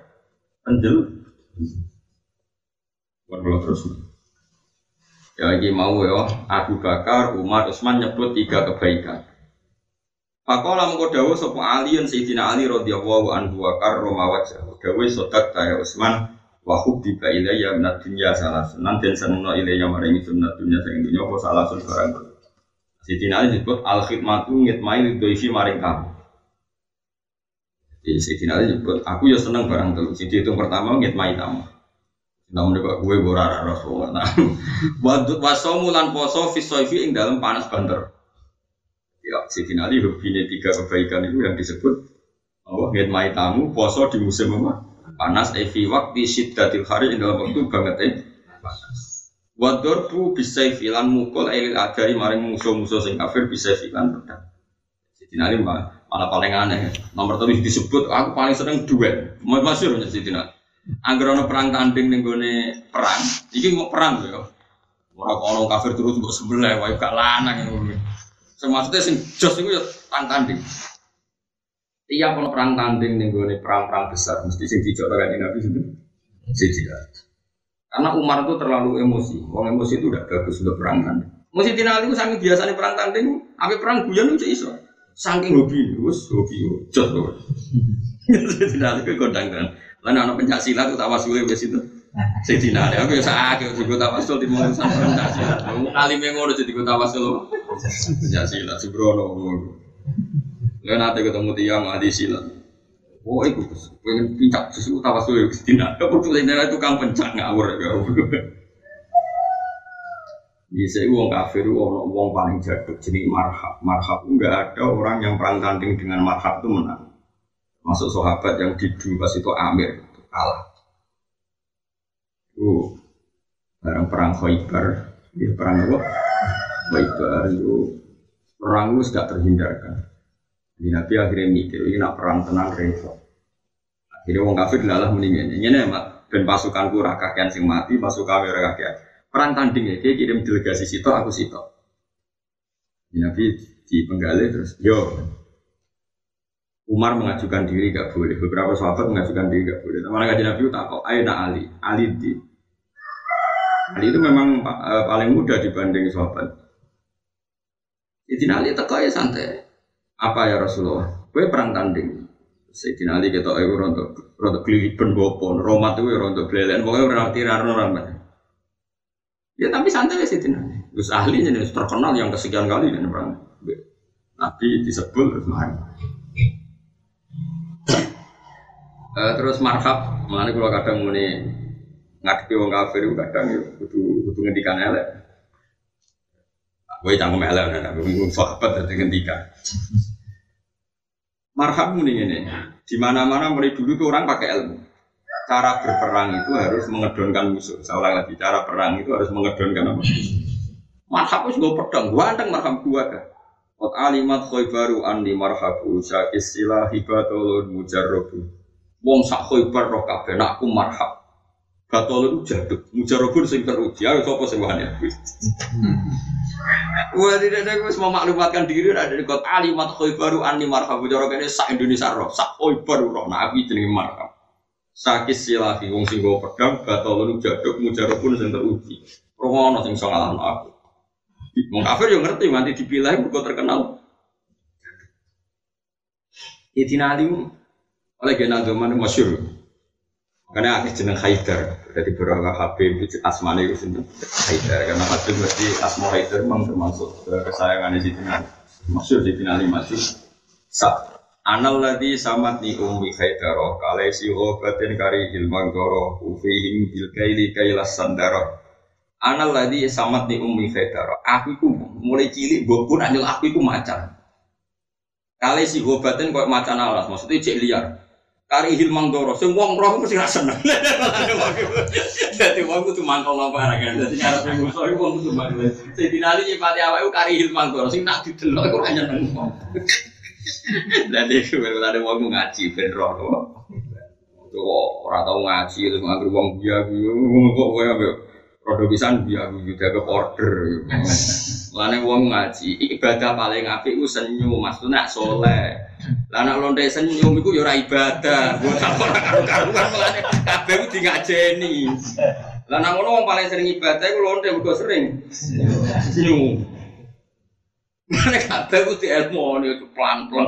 terus. Ya lagi mau ya Abu Bakar, Umar, Utsman nyebut 3 kebaikan. Faqala mengko dawuh sapa Ali Sayyidina Ali radhiyallahu anhu wa karrama wajhahu. Dawuh sodak ta Utsman wa hubbiba ilayya min ad-dunya salasun. Nanten senengno ilayya maring sunnah dunya sing dunya apa salasun barang. Sayyidina Ali disebut al-khidmatu ngitmai lidhoifi maring kamu. Jadi Sayyidina Ali disebut aku ya seneng barang telu. Sing dihitung pertama ngitmai tamu. Namun juga gue borara Rasulullah. Wadud wasomulan poso fisoifi ing dalam panas banter. Ya, Sayyidina Ali hubine 3 kebaikan itu yang disebut Allah ngitmai tamu poso di musim apa? Panas fi waqti syiddatil hari ing dalam waktu banget panas. Wadurbu bisayfi lan mukul ail adari maring musuh-musuh sing kafir bisayfi lan pedang. Sayyidina Ali malah paling aneh. Nomor 3 disebut aku paling seneng duel. Masyhur Sayyidina. Angger ana perang tanding ning gone perang, iki mau perang lho ya. Ora kok ana kafir terus mbok sebelah wae gak lanang ngono. Sing maksude sing jos iku ya tanding. Tiap ana perang tanding ning gone perang-perang besar mesti sing dijokno kan Nabi sinten? Sayyidina. Karena Umar itu terlalu emosi. Wong emosi itu udah bagus untuk perang tanding. Mesti tinali ku saking biasane perang tanding, ape perang guyon itu iso. Saking hobi, wis hobi jos kok. Tinali ku kondang-kondang. Lan ana pencaksilat utawa wis itu. Sayyidina Ali aku ya sakake juga tawasul di mongso pencaksilat. Alime ngono jadi tawasul. Pencaksilat Subrono ngono. Lah nate ketemu tiyang ahli silat. Oh iku pengen pincak sesuatu tawasul Sayyidina. Kebetulan tukang pencak ngawur ya. Bisa wong kafir wong paling jaduk jeneng marhab. Marhab enggak ada orang yang perang tanding dengan marhab itu menang. Masuk sahabat yang didu pas itu Amir itu kalah. Barang perang Khaybar, dia perang apa? Khaybar itu perang itu sudah terhindarkan. Jadi Nabi akhirnya mikir ini nak perang tenang repot. Akhirnya wong kafir adalah mendingan. Ini mak dan pasukanku rakakian sing mati, pasukan rakakian. Perang tanding ya, dia kirim delegasi sito, aku sito. Nabi di penggalih terus, yo. Umar mengajukan diri gak boleh, beberapa sahabat mengajukan diri gak boleh. Teman kajian Nabi tak kok, ayo nak Ali itu memang paling muda dibanding sahabat. Jadi Ali teko ya santai. Apa ya Rasulullah? Gue perang tanding. Sayyidina Ali ketok iku rontok gliliben bopo, romat iku rontok blelen, pokoke ora tirarno ramane. Ya tapi santai Sayyidina Ali. Gus ahli jenenge terkenal yang kesekian kali nek perang. Nabi disebut terus mari. Terus marhab, mulane kula kadang muni ngadepi wong kafir kadang yo kudu ngendikan elek. Kowe cangkem elek nek wong sahabat dadi ngendikan. Marhab muni ngene. Di mana-mana mulai dulu tuh orang pakai ilmu. Cara berperang itu harus mengedonkan musuh. Saya ulang lagi, cara perang itu harus mengedonkan apa? Marhab itu gue pedang, gue anteng marhab gue kan. Qad alimat khaybaru anni marhabu syakis silah hibatulun mujarrabu. Wong sak khaybar roh kabeh nek aku marhab. Batulun jaduk, mujarrabun sing teruji. Ayo sapa sing wani aku. Wah tidak ada gue semua maklumatkan diri ada di kota alimat khaybaru anni marhabu cara kene sak Indonesia roh sak khaybar roh nabi jenenge marhab. Sakis silahi wong sing go pedang batulun jaduk mujarrabun sing teruji. Rono sing iso ngalahno aku. Wong kafir yo ngerti nganti dipilih mergo terkenal. Sayyidina Ali oleh genal zaman masyhur. Karena ada jeneng Haidar, jadi beberapa Habib itu asmane itu sendiri Haidar. Karena Habib berarti asma Haidar memang termasuk kesayangan Sayyidina Ali. Masyhur Sayyidina Ali masih Anal ladzi samatni ummi Haidar, kalaisi ghabatin kari ilman goro, ufihim bil kaili kailas sandara. Anal ladzi samatni ummi Haidar. Aku iku mulai cilik mbokku nak nyel aku iku macan. Kalaisi ghabatin koyo macan alas, maksudnya cek liar. Kari hilmang doro, semua orang mesti rasa seneng. Jadi wong kudu mangkal nang paragan. Dadi cara pengusaha wong kudu mangkal. Sayyidina Ali nyipati awake kari hilmang doro, sing tak didelok iku ora nyeneng. Dadi ada wong ngaji ben roh. Kok ora tau ngaji terus nganggur wong biya-biya kok kowe ambek rodo pisan biya-biya jaga order. Lane wong ngaji ibadah paling apik ku senyum, maksudnya saleh. Lah nek lonte senyum iku ya ora ibadah. Wong ora karo-karuan melane kabeh ku ngajeni. Lah nek ngono wong paling sering ibadah iku lonte mergo sering senyum. Mane kabeh ku dielmoni itu pelan-pelan.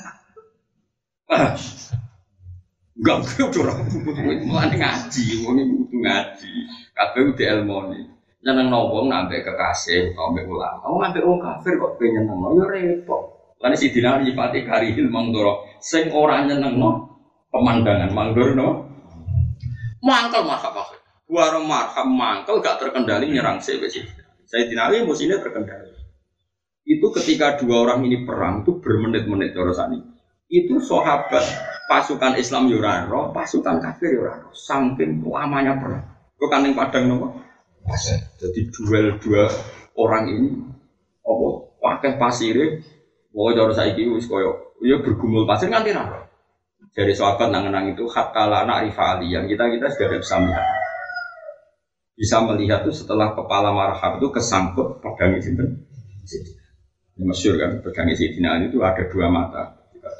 Enggak kudu ora mulane ngaji, wong iku kudu ngaji. Kabeh ku dielmoni. Nyenengno wong nambah kekasih utawa mbek ulama. Wong ambek wong kafir kok pengen nyenengno ya repot. Karena si Dina nyipati karihil mangdoro sing ora nyenengno pemandangan mangdorno mangkel marhab akhir warung marhab mangkel gak terkendali nyerang saya Dina emosinya terkendali itu ketika dua orang ini perang itu bermenit-menit terusani itu sahabat pasukan Islam yurano pasukan kafir yurano saking lamanya perang kok kaning padang nopo jadi duel dua orang ini apa pakai pasire. Oh, cara saiki wis koyo ya bergumul pasir nganti ra. Dari sahabat nang-nang itu hatta la na'rifali yang kita sudah bisa melihat. Bisa melihat itu setelah kepala marhab itu kesangkut pedang sinten. Ini masyhur kan pedang Sayyidina Ali itu ada dua mata.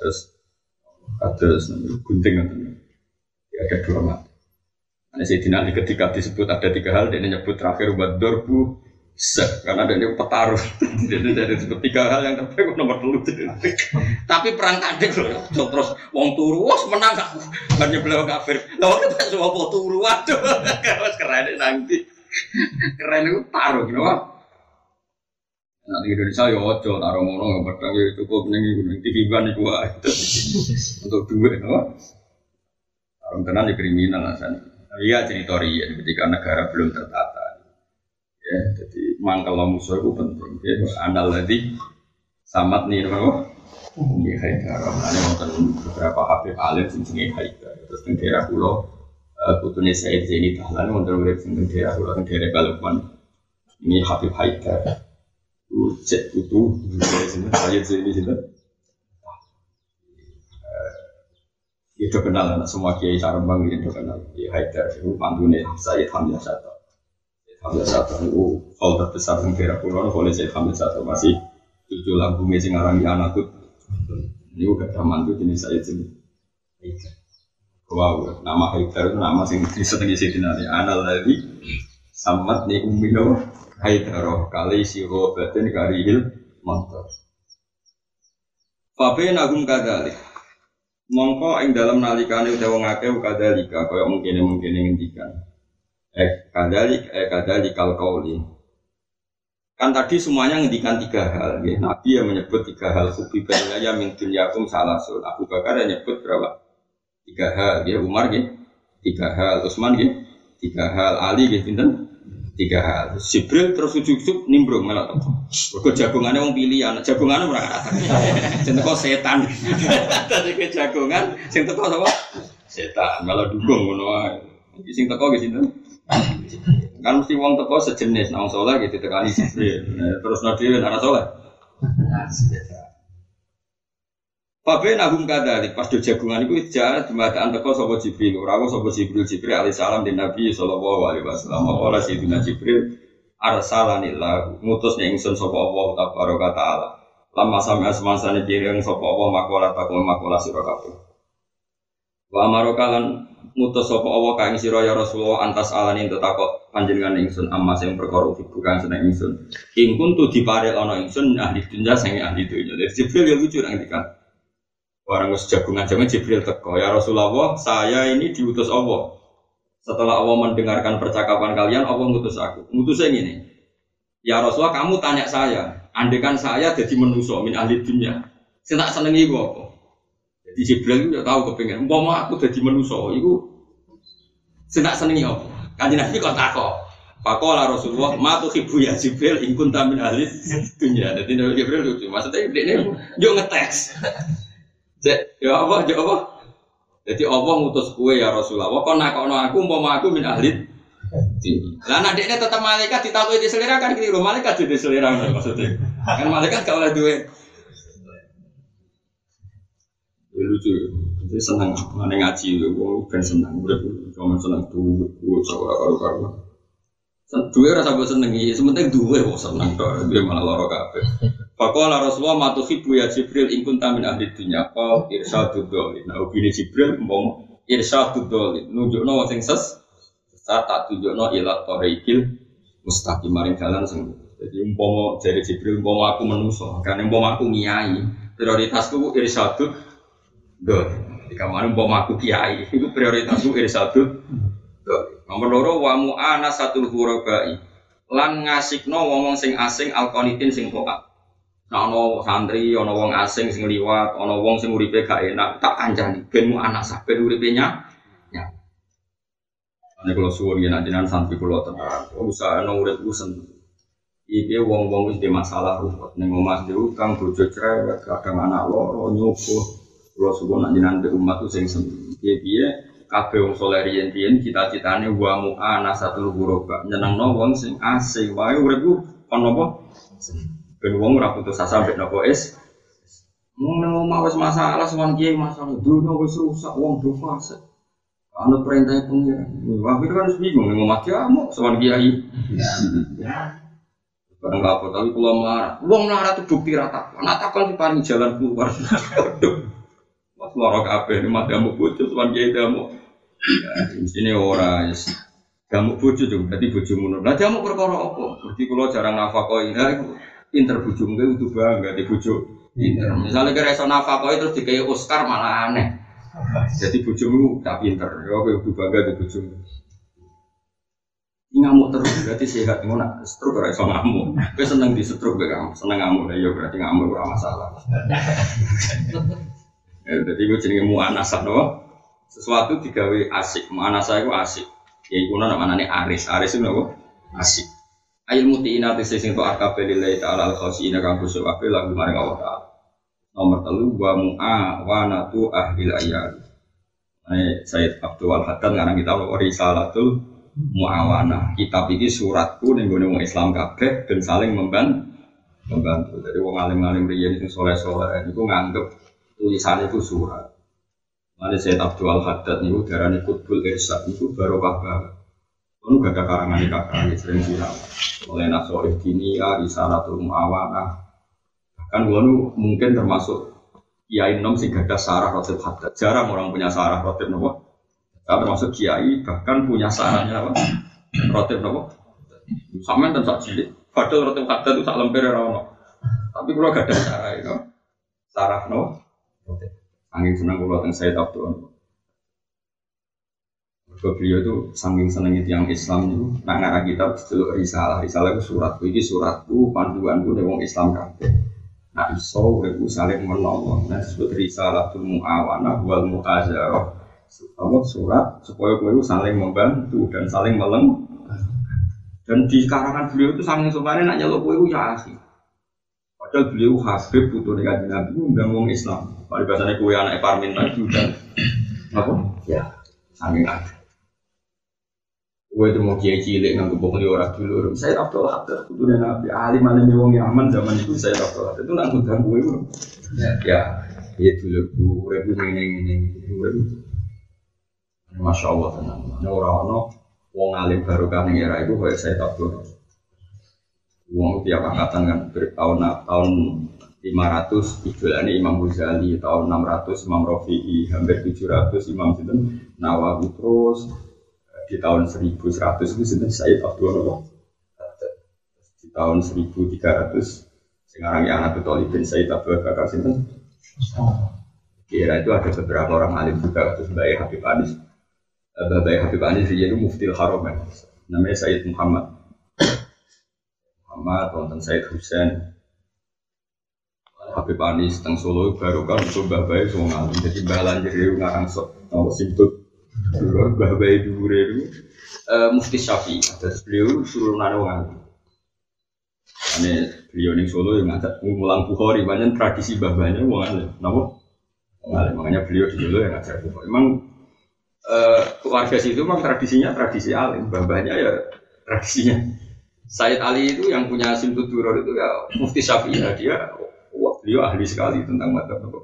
Atas gunting ngoten. Ada dua mata. Nah, Sayyidina Ali ketika disebut ada tiga hal dan menyebut terakhir wadorbu karena ada yang petarung, jadi tiga hal yang terbaik nomor 3. Tapi perang kadek loh, terus wong turu, wah menang aku, banyak beliau kafir. Lalu kita semua mau turu, waduh, keren nanti, keren itu taruh, gitu kan? Nanti Indonesia ya ojo taruh mono, pedang ya cukup nengi TV ban itu untuk duit, no? Taruh tenan ya kriminal alasan. Iya cerita ya, ketika negara belum tertata. Ya, jadi mangkal musuh itu penting. Ya, andal tadi samat nih, apa? Ini Haidar. Ada wonten beberapa Habib alim sing Haidar. Terus teng daerah kula putune Said Zaini Dahlan wonten urip teng daerah kula teng daerah Balukan. Ini Habib Haidar. Cek putu sini Said Zaini sinten. Itu kenal anak semua kiai Sarembang itu kenal. Kiai Haidar itu pantune Said Hamzah Satu. Hamzah Satu itu hal terbesar di daerah Pulau oleh Syed Hamzah Satu masih 7 lambungnya sing aran di anakku. Ini udah taman tuh jenis saya sini. Wow, nama Haidar itu nama sing disenengi Sayyidina Ali. Anal ladzi samat ni ummino Haidar kali siro batin karihil mantar. Fabe nagum kadalik. Mongko ing dalam nalikane utawa ngake kadalika kaya mungkin ngendikan. Kadalikal qauli. Kan tadi semuanya ngendikan 3 hal ya. Nabi yang menyebut 3 hal kubibanya ya min dunyakum salasul. Abu Bakar yang nyebut berapa? 3 hal ya. Umar ya 3 hal, Utsman ya 3 hal, Ali ya pinten 3 hal. Jibril terus ujug-ujug nimbrung malah teko. Mergo jagongane wong pilihan, jagongane ora kata. Sing teko setan. Dadi ke jagongan sing teko sapa? Setan, malah dukung ngono wae. Sing teko ki sinten? Kan mesti wong teko sejenis nang saleh gitu tekani Jibril. Terus dhewe ora saleh. Pabe nagum kadalik pas do jagungan iku jahat dimataan teko sapa Jibril. Ora sapa Jibril alaihi salam di Nabi sallallahu alaihi wasallam. Ora Sayyidina Jibril arsalanillah ngutus ning ingsun sapa Allah tabaraka taala. Lama sampe asmansane pireng sapa Allah makola sira kabeh. Wa amarokalan ngutus sapa Allah ka ing sira ya Rasulullah antas alani ento takok panjenengan ingsun amma sing perkara bukan seneng ingsun. Ing kuntu diparel ana ingsun ahli dunya sing ahli dunya. Jibril yo lucu nang dikan. Orang wis jagungan jangan Jibril teko ya Rasulullah saya ini diutus Allah setelah Allah mendengarkan percakapan kalian Allah ngutus aku ngutusnya gini ya Rasulullah kamu tanya saya andekan saya jadi manusia min ahli dunya saya tak senengi iku apa jadi Jibril itu tahu kepengen umpama aku jadi manusia itu saya tak senengi apa kanjeng Nabi kok takok Pakola Rasulullah matu hibu ya Jibril ingkun tamin ahli dunya jadi Jibril lucu maksudnya ini yuk ngetes ya apa? Jadi Allah ngutus kue ya Rasulullah. Kok nakono aku umpama aku min ahli. Lah nek dekne tetep malaikat ditakoki di selera kan keliru. Malaikat jadi selera maksudnya. Kan malaikat gak oleh duwe. Lucu. Jadi seneng ngene ngaji wong ben seneng urip cuma seneng duwe karo-karo. Duwe ora sampe senengi, sementing duwe kok seneng tok, duwe malah lara kabeh. Faqala Rasulullah matuhibu ya Jibril in kunta min ahli dunya qal irsyadud dhalin. Nah, ubine Jibril umpama irsyadud dhalin, nunjukno wong sing sesat tak tunjukno ila tariqil mustaqim maring dalan sing. Jadi umpama jare Jibril umpama aku manusa, kan umpama aku kiai, prioritasku ku irsyadud dhalin. Jika umpama aku kiai, itu prioritasku irsyadud dhalin. Nomor loro wa mu'anasatul ghurabai lan ngasikno wong sing asing alqanitin sing taat. Nah ana santri, ana wong asing sing liwat, ana wong sing uripe gak enak, tak kancani ben mu'anasah ben uripe nya. Nek kula suwun yen jenengan santri kula tenan, usahane urip ku seneng. Iki wong-wong wis di masalah ruwet ning omah dhewe kang bojo cerewet, kadang anak loro nyubuh. Kula suwun nek jenengan umat ku sing seneng. Piye-piye kabeh wong saleh riyen-riyen cita-citane wa mu'anasatul ghuraba nyenengno wong sing asing wae uripku kon napa ben wong ora putus asa mbek napa is mung omah wis masalah sowan kiai masalah dunya wis rusak wong do fase ana perintah pengiran wah itu kan bingung ning omah kiamu sowan kiai bareng apa tapi kula marah wong melarat itu bukti rata ana takon diparingi jalan keluar Mas loro kabeh nek madamu bojo sowan kiai damu mestine ora wis gamu bojo yo dadi bojomu ngono. Lah jamu perkara apa? Mergi kula jarang nafakoi. Ha iku pinter bojomu kudu bangga di bojo. Pinter. Misale kira iso nafakoi terus dikei Oscar malah aneh. Jadi bojomu tak pinter. Ya kowe kudu bangga di bojomu. Ngamuk terus berarti sehat ngono. Stroke ora iso ngamuk. Kowe seneng di stroke kowe kamu. Seneng ngamuk ya berarti ngamuk ora masalah. Jadi gue jenenge mu'anasah no? Sesuatu digawe asik, mu'anasah itu asik. Ya iku namane aris, aris itu apa? Asik. Ail mutiina tese sing tok akabe lillahi ta'ala al-khasiina kang kusuk kabeh lagu maring Allah Ta'ala. Nomor 3 wa mu'awanatu ahli ayat. Sayyid Abdul Haddad ngarang kitab Risalatul Mu'awanah. Kitab iki suratku ning gone wong Islam kabeh ben saling membantu. Jadi wong alim-alim riyen sing saleh-saleh niku nganggep tulisannya itu surat. Ada Sayyid Abdul Haddad niku darani Qutbul Irsyad niku barokah banget. Ono gak ada karangan kakak sering viral. Oleh Nasoif Dinia, Risalatul Mu'awanah. Bahkan wono mungkin termasuk kiai nom sing gadah sarah Rotib Haddad. Jarang orang punya sarah Rotib nopo. Termasuk kiai bahkan punya sarahnya apa? Rotib nopo. Sampeyan ten sak cilik. Padahal Rotib Haddad itu sak lemper ora ono. Tapi kula gadah sarah itu. Sarah nopo. Saking senang kula teng Said Abdul. Beliau itu saking senengnya tiang Islam itu nak ngarang kitab delok risalah itu suratku iki suratku panduanku nek wong Islam kabeh. Nah iso urip saling menolong. Nah disebut risalatul muawanah wal muazarah. Apa surat supaya kowe saling membantu dan saling meleng. Dan di karangan beliau itu saking supane nak nyeluk kowe ya asih. Padahal beliau Habib putune Kanjeng Nabi undang wong Islam. Padahal biasane kowe anake Parmin lagi udah apa? Ya, saking ada. Gue itu mau kiai cilik nggak kebong di orang dulu. Saya Abdul Haddad itu dan Nabi alim wong Yaman zaman itu saya Abdul Haddad itu nggak ngundang gue bro. Ya dulu gue ini. Masya Allah tenang. Orang wong alim baru kan era itu kayak saya Abdul. Wong tiap angkatan kan tahun 500 idolane Imam Ghazali, tahun 600 Imam Rafi'i, hampir 700 Imam Nawawi terus. Di tahun 1100 itu sinten Said Abdul Wahab. Di tahun 1300 sekarang yang Abu Thalib bin Said Abdul Bakar sinten. Kira itu ada beberapa orang alim juga terus Mbak Habib Anis. Mbak Habib Anis dia itu Muftil Haramain. Namanya Said Muhammad wonten Said Husain. Habib Anis teng Solo baru kan itu Mbah Bae wong alim. Jadi Mbah Lanjir ngarang sok nomor simput Mbah Bae dhuwure itu Mufti Syafi'i. Terus beliau turunane wong alim. Ane beliau ning Solo yang ngajak ngulang Bukhari, banyak tradisi babanya wong alim. Napa? Wong alim. Makanya beliau di Solo yang ngajak Bukhari. Memang keluarga situ memang tradisinya tradisi alim, babanya ya tradisinya. Said Ali itu yang punya Simtud Duror itu ya Mufti Syafi'i. Beliau ahli sekali tentang madzhab itu.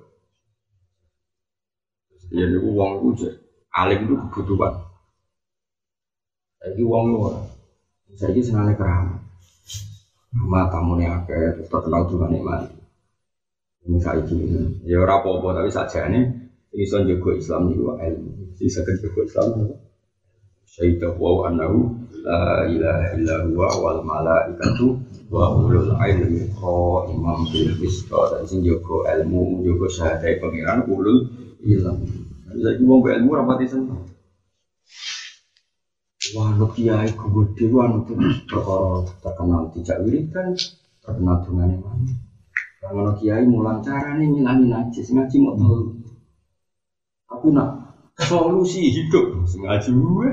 Ya niku wong itu alim itu kebutuhan. Saiki wong ora. Saiki senane keramat. Matamu nek akeh terkenal dungane mati. Ini saiki ya ora apa-apa tapi sakjane iso njogo Islam niku ilmu. Iso njogo Islam. Syaitu wa annahu la ilaha illa huwa wal malaikatu wa ulul ilmi qaiman bil qist. Dan sing njogo ilmu, njogo syahadat pangeran ulul ilmi. Jadi wong ilmu rapati seneng. Wah, kiai gede wan itu perkara terkenal tidak wiridan, terkenal dungane mana. Kalau kiai mulang carane ngilangi najis, ngaji mau tahu. Tapi nak solusi hidup ngaji gue.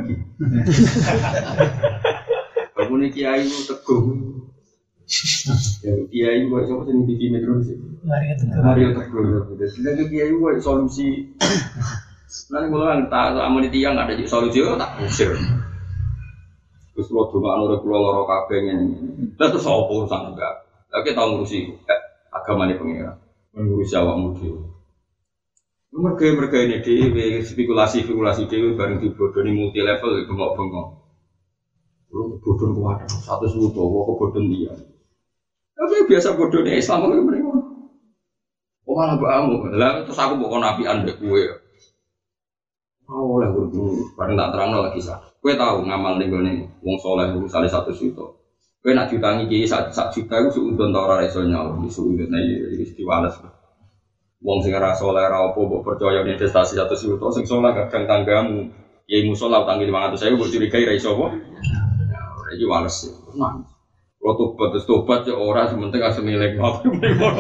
Kamu nih kiai itu teguh. Ya kiai gue siapa sih TV Metro sih? Mario teguh. Jadi kiai gue solusi. Nanti mulang tak amun tiang ada solusi tak usir. Terus lo cuma nurut pulau loro kabeh ngene. Terus apa urusan enggak? Lagi tahu ngurusi agama ini pengira, ngurusi awakmu dhewe. Mereka ini dhewe spekulasi dhewe bareng dibodoni multi level bengok-bengok. Lu bodon kuat, satu suto kok bodon dia. Tapi biasa bodone Islam kok mrene. Oh malah mbakmu. Lah terus aku mbok nabi andek kowe. Oh oleh guru bareng tak terangno lagi sah. Kowe tahu ngamal ning gone wong saleh misale 1 juta. Kowe nak diutangi kiai 1 juta iku suudon ta ora iso nyaur, suudon iki istiwales. Wong sing ora saleh ora apa mbok percaya investasi 1 juta sing saleh kadang tanggamu kiai musala utangi 500.000 mbok curigai ra iso apa? Ya ora iki wales. Tenang. Kalau tobat ya ora sementing asal milik apa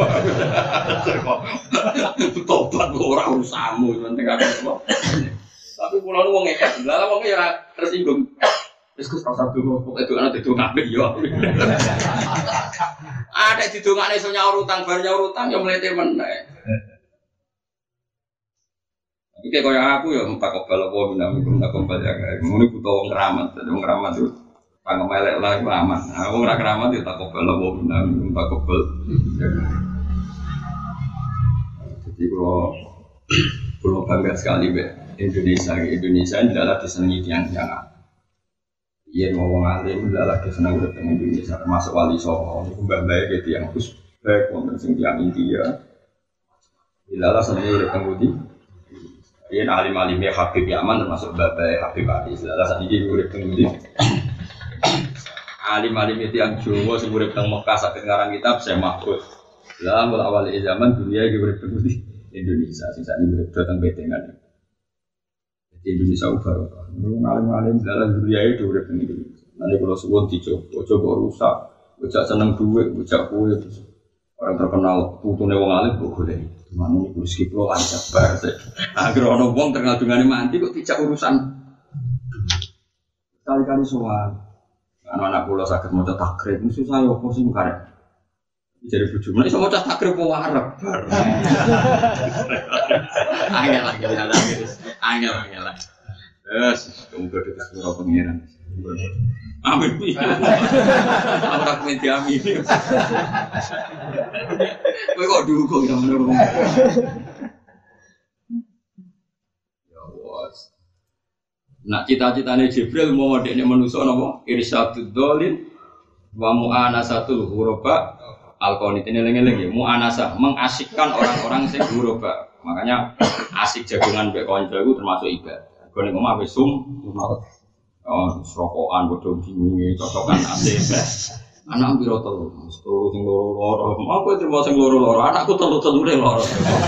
tobat ora urusanmu sementing apa. Tapi pulau nu wong ngekek, lah wong ya tersinggung. Wis Gus rasa dulu kok itu ana didongake ya. Ada didongane iso nyaur utang, bar nyaur utang ya mlete meneh. Iki koyo aku ya tak kobal apa minam tak kobal ya. Ngono butuh wong keramat, wong keramat itu pangemelek lah iku aman. Nah, wong ora keramat ya tak kobal apa minam tak kobal. Jadi kalau bangga sekali Indonesia adalah disenangi tiang-tiangan. Iya ngomong alim adalah disenangi dengan Indonesia termasuk Wali Songo. Ini mbak-mbak gitu yang khusus baik untuk tiang India. Adalah senangi oleh pengundi. Iya alim-alimnya Habib Yaman termasuk mbak-mbak Habib Anis. Adalah saat ini oleh pengundi. Alim-alim itu yang Jawa sebelum tentang Mekah sakit ngarang kitab saya mahfuz. Dalam awal zaman dunia juga berpengundi. Indonesia, sisa ini datang betengan. Jadi Indonesia barokah. Ngalim-ngalim dalam dunia itu udah begini. Nanti kalau suwon coba rusak, bocah seneng duit, bocah kue. Orang terkenal putune wong alim kok boleh. Mana ini kursi kiplo lancar banget. Agar orang wong terkenal dengan mandi kok tidak urusan. Kali-kali soal. Anak-anak pulau sakit mau takrib, ini susah ya, apa sih karek? Jadi bujuk, mana bisa mau takrib mau warap? Angel lah. Yes, kamu berarti kesuruh pengiran. Amin. Orang media amin. Kau kok dukung sama orang? Ya was. Nak cita-citane Jibril mau dekne manusa napa? Irsyadud dzalin wa mu'anasatul ghuraba al-qanitin eling-eling ya mu'anasah mengasikkan orang-orang sing ghuraba. Makanya asik jagongan mbek kanca iku termasuk ibadah. Gone omah wis rokokan bodho bingunge cocokan asik. Anak piro telu? Telu sing loro-loro. Mau kowe terima sing loro-loro, anakku telu-telune loro.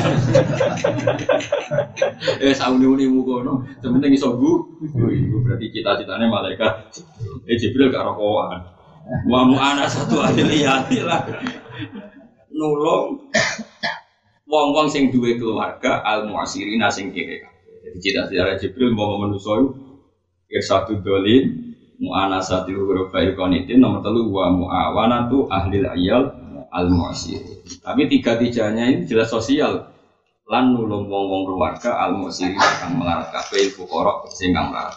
Sauni-unimu kono. Sementing iso iku berarti cita-citane malaikat. Jibril gak rokokan. Wa mu'ana satu ahli lah. Nulung wong-wong sing duwe keluarga al-mu'asirina sing kere. Jadi cita-citane Jibril mau manusa iku irsatu dolin mu'anasatil ghurafa'il qanitin nomor 3 wa mu'awanatu ahlil ayal al-mu'asir. Tapi tiga-tiganya ini jelas sosial. Lan nulung wong-wong keluarga al-mu'asir kang melarat kabeh fuqara sing kang melarat.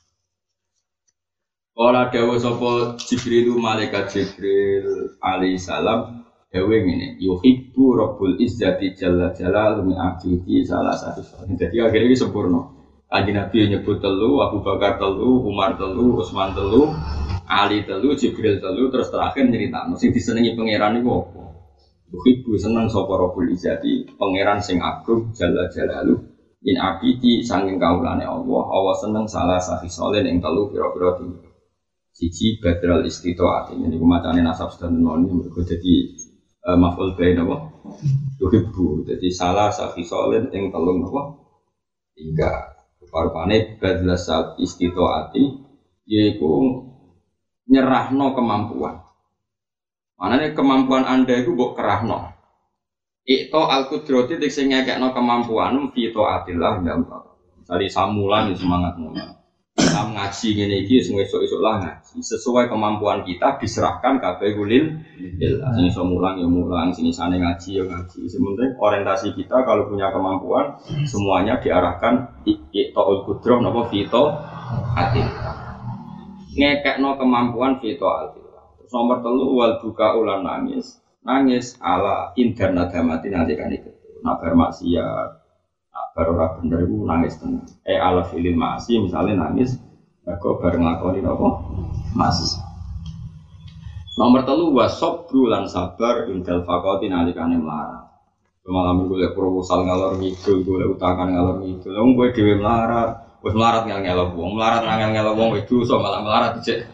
Ora dawuh sapa Jibril malaikat Jibril alaihi salam dawuh ngene yuhibbu rabbul izzati jalla jalaluhu min abdihi salah satu. Jadi akhirnya ini sempurna. Kanjeng Nabi nyebut telu, Abu Bakar telu, Umar telu, Utsman telu, Ali telu, Jibril telu, terus terakhir nyeritakno sing disenengi pangeran iku apa? Muhibbu seneng sapa Rabbul Izzati, pangeran sing agung jalla jalalu. In abidi sanging kaulane Allah, Allah seneng salah sahisolen ing telu pira-pira tinggi. Siji badral istitaat, ini macane nasab sedene mergo dadi maf'ul bain apa? Muhibbu, dadi salah sahisolen ing telu apa? Tiga. Parpane badlas istitaati yaiku nyerahno kemampuan. Manane kemampuan Anda itu mbok kerahno. Ikto al-qudrati sing ngekekno kemampuan fi taatillah ndang. Misale samulan semangat ngono. Sam ngaji ngene iki sing esuk-esuk lah ngaji. Sesuai kemampuan kita diserahkan kabeh kulil. Sing iso mulang ya mulang, sing isane ngaji ya ngaji. Sementing orientasi kita kalau punya kemampuan semuanya diarahkan iqtaul qudrah napa fito atil. Ngekekno kemampuan fito atil. Terus nomor 3 wal buka ulan nangis. Nangis ala interna damati nanti kan itu. Nabar maksiat baru ora bener iku nangis tenan. Ala filil ma'asi misalnya nangis mergo bareng nglakoni apa? Ma'asi. Nomor 3 wasabru lan sabar indal faqati nalikane melarat. Malam golek proposal ngalor ngidul, golek utangan ngalor ngidul. Wong kowe dhewe melarat, wis melarat ngel-ngelo wong, melarat ngel-ngelo wong wis dosa malah melarat dicek.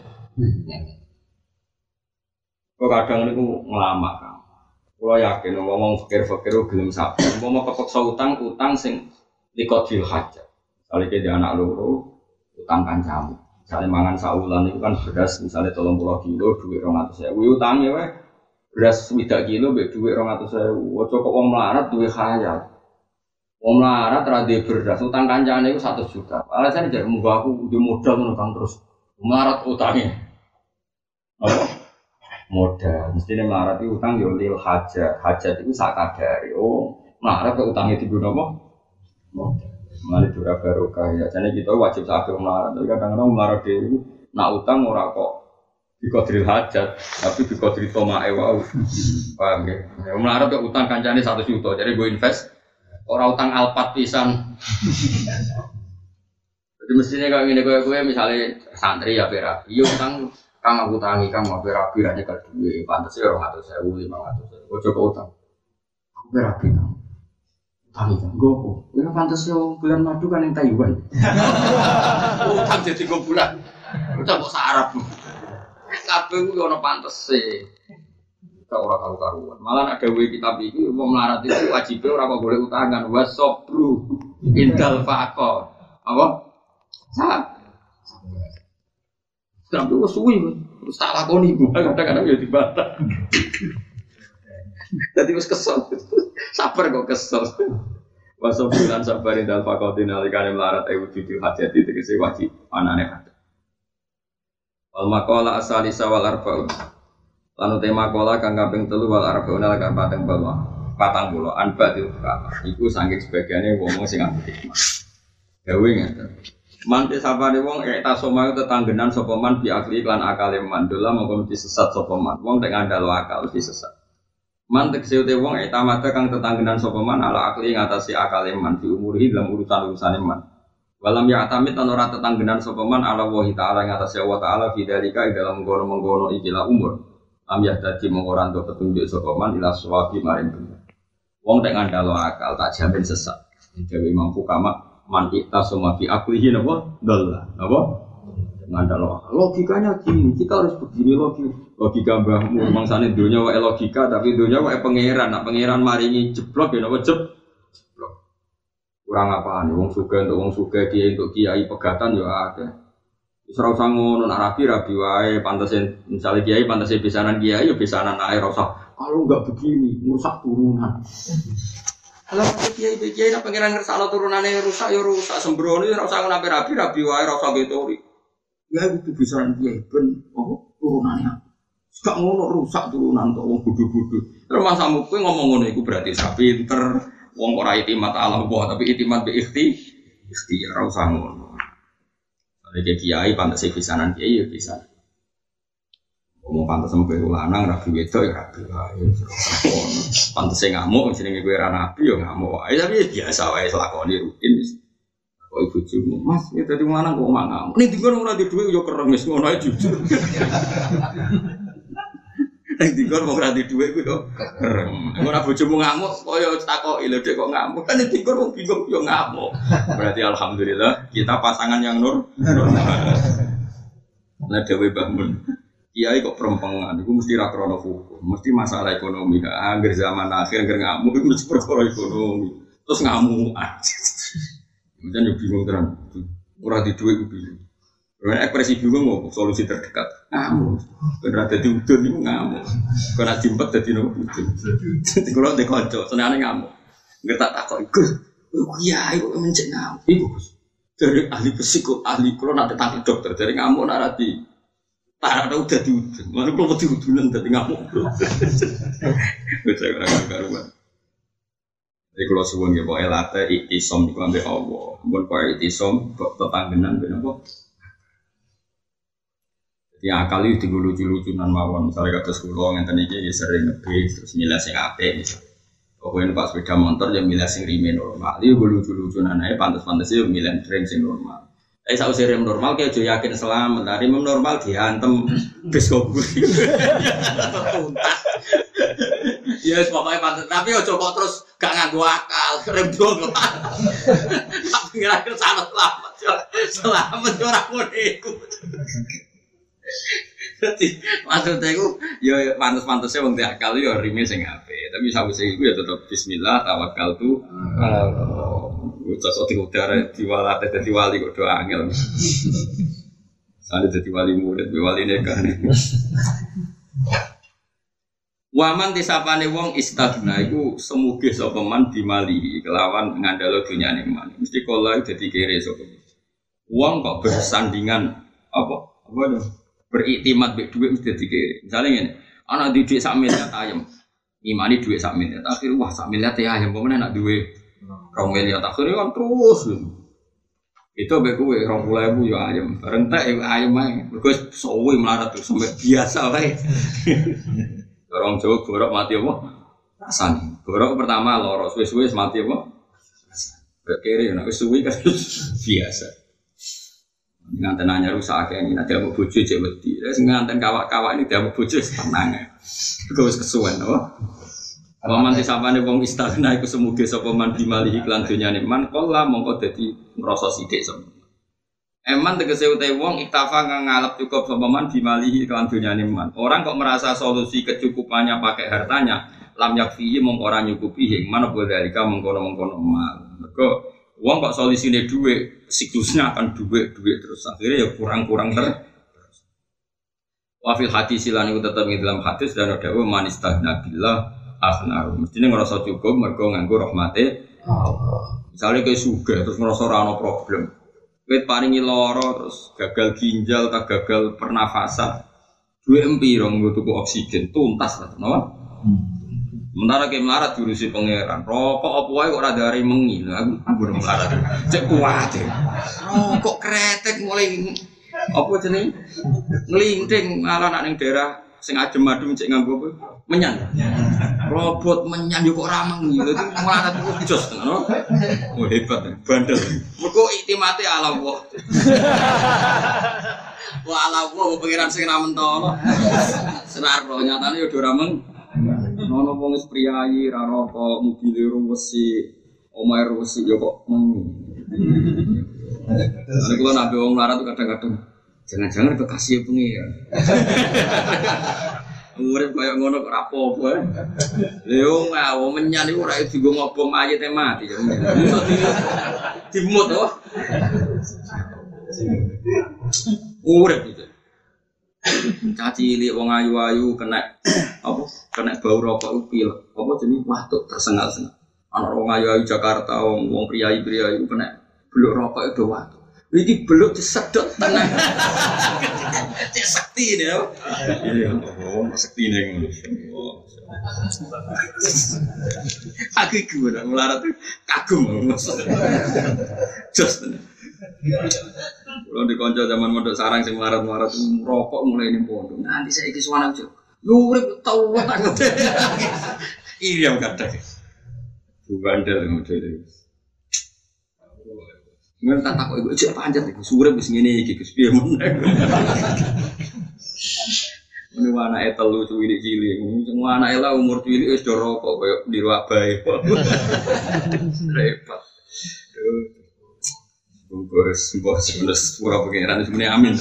Kok kadang niku ngelamak kan. Kulo yakin ngomong fikir-fikir gelem sabar. Umpama kepeksa utang sing liqatil hajat. Misale ke anak loro utang kancamu. Misale mangan saulan itu kan beras misale 30 kilo duit 200.000. Utange wae beras 20 kilo mbek duit 200.000. Ojo kok wong melarat duwe khayal. Wong melarat ra duwe beras utang kancane iku 100 juta. Alasane jar munggo aku duwe modal ngono kan terus melarat utange. Apa? Modal, mestinya melarat itu utang yo lil hajat itu sakadari. Oh, melarat ke utangnya digunakan apa? Modal. Melarat juga barokah ya. Jadi kita wajib sakit melarat. Tapi kadang-kadang melarat itu nak utang ora kok dikodril hajat, tapi dikodril tomae wow. Paham ya? Melarat ke utang kancane 1 juta. Jadi gue invest ora utang alpat pisan. Jadi mestinya kalau ngene gue misalnya santri ya berapi, yo utang kang aku tangi kang mau berapi aja ke duit pantas ya 200.000 500.000 ojo ke utang aku berapi kang tangi kang gopo ini pantas yo bulan madu kan yang Taiwan utang jadi go bulan utang kok sarap kabeh ku ono pantes gak ora karu-karuan. Malah ada we kitab iki wong melarat itu wajibnya ora kok boleh utangan wasobru indal faqo. Apa? Sampai wis suwi terus tak lakoni kadang-kadang ya dibantah. Dadi wis kesel. Sabar kok kesel. Wasobulan sabarin dal faqatin alikane melarat wujud hajat tegese wajib anane hajat. Wal maqala asalisa wal arba'un. Lan tema maqala kang kaping 3 wal arba'un lan kaping 40. Anba diutak. Iku saking sebagiane wong sing ambek hikmah. Gawe ngeten. Mantis sapane wong eta somayu tetanggenan sapa man bi akli lan akale man dola mongko mesti sesat sapa man wong tek ngandalo akal mesti sesat man tek seute wong eta mata kang tetanggenan sapa man ala akli ngatasi akale man di umurihi dalam urusan-urusane man walam ya atamit lan ora tetanggenan sapa man ala wahi taala ngatasi Allah taala fi dalika dalam mengkono-mengkono ikilah umur am ya dadi mongko ora entuk petunjuk sapa man ila sawabi maring bener wong tek ngandalo akal tak jamin sesat dewe mampu kamak man kita semua fi aklihi napa dallah napa ngandalo logikanya gini kita harus begini logika mbahmu mangsane dunya wae logika tapi dunya wae pangeran nak pangeran maringi jeblok ya napa jeblok kurang apane wong sugih untuk wong sugih kiai untuk kiai pegatan ya akeh wis ora usah ngono nak rabi wae pantesin misale kiai pantesin pisanan kiai ya pisanan ae ora usah kalau enggak begini merusak turunan. Kalau kiai nak pengiran ngersakno turunane rusak ya rusak sembrono ora usah ngono rabi wae ora usah getori. Ya itu bisaran kiai ben turunane. Gak ngono rusak turunan tok wong bodho-bodho. Terus masamu kowe ngomong ngono iku berarti sak pinter wong ora itimat Allah tapi itimat bi ikhtiar ora usah ngono. Nek kiai pantes pisanan kiai ya bisa. Ngomong pantes sampe lanang rabi wedok ya rabi wae. Pantes ngamuk jenenge kowe ra nabi ya ngamuk wae tapi biasa wae lakoni rutin wis. Kok ibu bojomu Mas ya dadi lanang kok ngamuk. Ning dikon ora di dhuwit ya kereng wis ngono ae jujur. Ning dikon ora di dhuwit ku yo kereng. Ora bojomu ngamuk kaya takoki lho Dek kok ngamuk. Kan ning dikon wong bingung yo ngamuk. Berarti alhamdulillah kita pasangan yang normal. Lah dewe bangun. Kiai kok perempangan, itu mesti rakrono hukum, mesti masalah ekonomi. Angger zaman akhir angger ngamuk, itu mesti perkara ekonomi. Terus ngamuk aja. Kemudian ya bingung terang, murah di duit bingung. Karena ekspresi bingung mau solusi terdekat ngamuk. Karena ada diudun itu ngamuk. Karena jimpet jadi ngamuk. Kalau dikonco, senangnya ngamuk. Nggak tak takut ikut. Kiai kok mencet ngamuk. Ibu dari ahli psikologi, ahli kalau nanti tangkap dokter dari ngamuk narati. Tak ada udah diudun, mana kalau diudunan tadi ngamuk. Baca karuan. Jadi kalau sebuah gitu, elate itisom itu ambil Allah, bukan kau itisom tetanggenan benar. Jadi akal itu lucu-lucunan mawon, misalnya kata sekolah yang tadi dia sering ngebis, terus milah sing ape, pokoknya pas sepeda motor dia milah sing rime normal, dia lucu-lucunan aja, pantas-pantasnya milah rem sing normal. Saya rem normal, kayak jo yakin selamat. Rem normal dihantem bis kobul. Ya, pokoknya pantas. Tapi ojo kok terus gak nganggo akal, rem normal. Tapi ngira-ngira selamat. Selamat orang ngono iku. Jadi maksudnya itu, ya pantas-pantasnya wong akal ya rime sing apik. Tapi sawise iku ya tetep bismillah tawakkaltu. Cocok di udara diwala jadi wali kok doa angel. Ada jadi wali murid, wali nekah. Waman disapane wong istagna iku semuge sapa man dimali kelawan ngandalo dunyane man. Mesti kala dadi kere sapa. Wong kok bersandingan apa itu? Beriktimat mek dhuwit mesti dadi kere. Misale ngene, ana di dhuwit sak miliar ayam. Imani dhuwit sak miliar, akhir wah sak miliar teh ayam pemene nak duwe 2 miliar akhirnya kan terus. Itu mbek kowe 20.000 ya ayam. Bareng tek ayam ae. Mergo suwe melarat terus sampe biasa wae. Orang Jawa gorok mati apa? Rasane. Gorok pertama loro, suwe-suwe mati apa? Rasane. Kere nek wis suwe kan biasa. Nganten anyar rusak akeh nek diamuk bojo cek wedi. Wis nganten kawak-kawak ini diamuk bojo tenang ae. Iku wis kesuwen apa? Waman disapane wong istagna iku semuge sapa man dimali iklan dunyane man kala mongko dadi ngrasa sithik sapa. Eman tegese utai wong iktafa kang ngalap cukup sapa man bimalihi kan dunyane man. Orang kok merasa solusi kecukupannya pakai hartanya, lam yakfihi mongko ora nyukupi hing man apa dalika mengkono-mengkono mal. Mergo wong kok solusine dhuwit, siklusnya akan dhuwit terus akhirnya ya kurang-kurang terus. Wa fil hadis lan iku tetep ing dalam hadis dan dawuh man istaghna billah akhna. Mestine ngrasa cukup mergo nganggo rahmate Allah. Misale kowe sugih terus ngrasa ora ana problem. Wit paringi loro terus gagal ginjal tak gagal pernafasan. Duwe empiro nggo tuku oksigen tuntas lah, napa? Sementara ke melarat diurusi pangeran. Rokok apa wae kok ora dari mengi. Aku melarat. Cek kuat. Rokok kretek mulai apa jenenge? Nglinting malah nak ning daerah sing adem-adem cek nganggo apa? Menyan. Robot menyan yo kok ra mengi. Dadi melarat iku jos ngono. Oh hebat, bandel. Mergo iktimate ala Allah. Wah ala Allah pengiran sing ra mentolo. Senaro nyatane yo ora meng. Nono wong wis priyayi ra rokok, mobile ruwesi, omahe ruwesi yo kok mengi. Nek kula nabe wong melarat kadang-kadang jangan-jangan kekasih pengiran. Urip kaya ngono kok ora apa-apa. Lho ngawo menyan iku ora dienggo ngobong mayite mati. Dimut to. Urip iki. Caci cilik wong ayu-ayu kena apa? Kena bau rokok iku pil. Apa jenenge watuk tersengal-sengal. Ana wong ayu-ayu Jakarta wong priyayi-priyayi kena beluk rokok itu watuk. Iki beluk disedot tenang. Cek sakti ne. Iya, oh, sakti ne ngono. Aku iku ora melarat kagum. Jos. Kalau di konco zaman mondok sarang sing melarat-melarat rokok mulai ning pondok. Nanti saiki suwana yo urip tau banget. Iya kadang. Bandel model. Ngen tak takok iku cek pancet iku surip wis ngene iki Gus piye men. Mene anake telu cilik-cilik, semua anake lah umur cilik wis do rokok koyo niru abahe. Repot. Bungkus sebelas pura pengiran sebenarnya amin.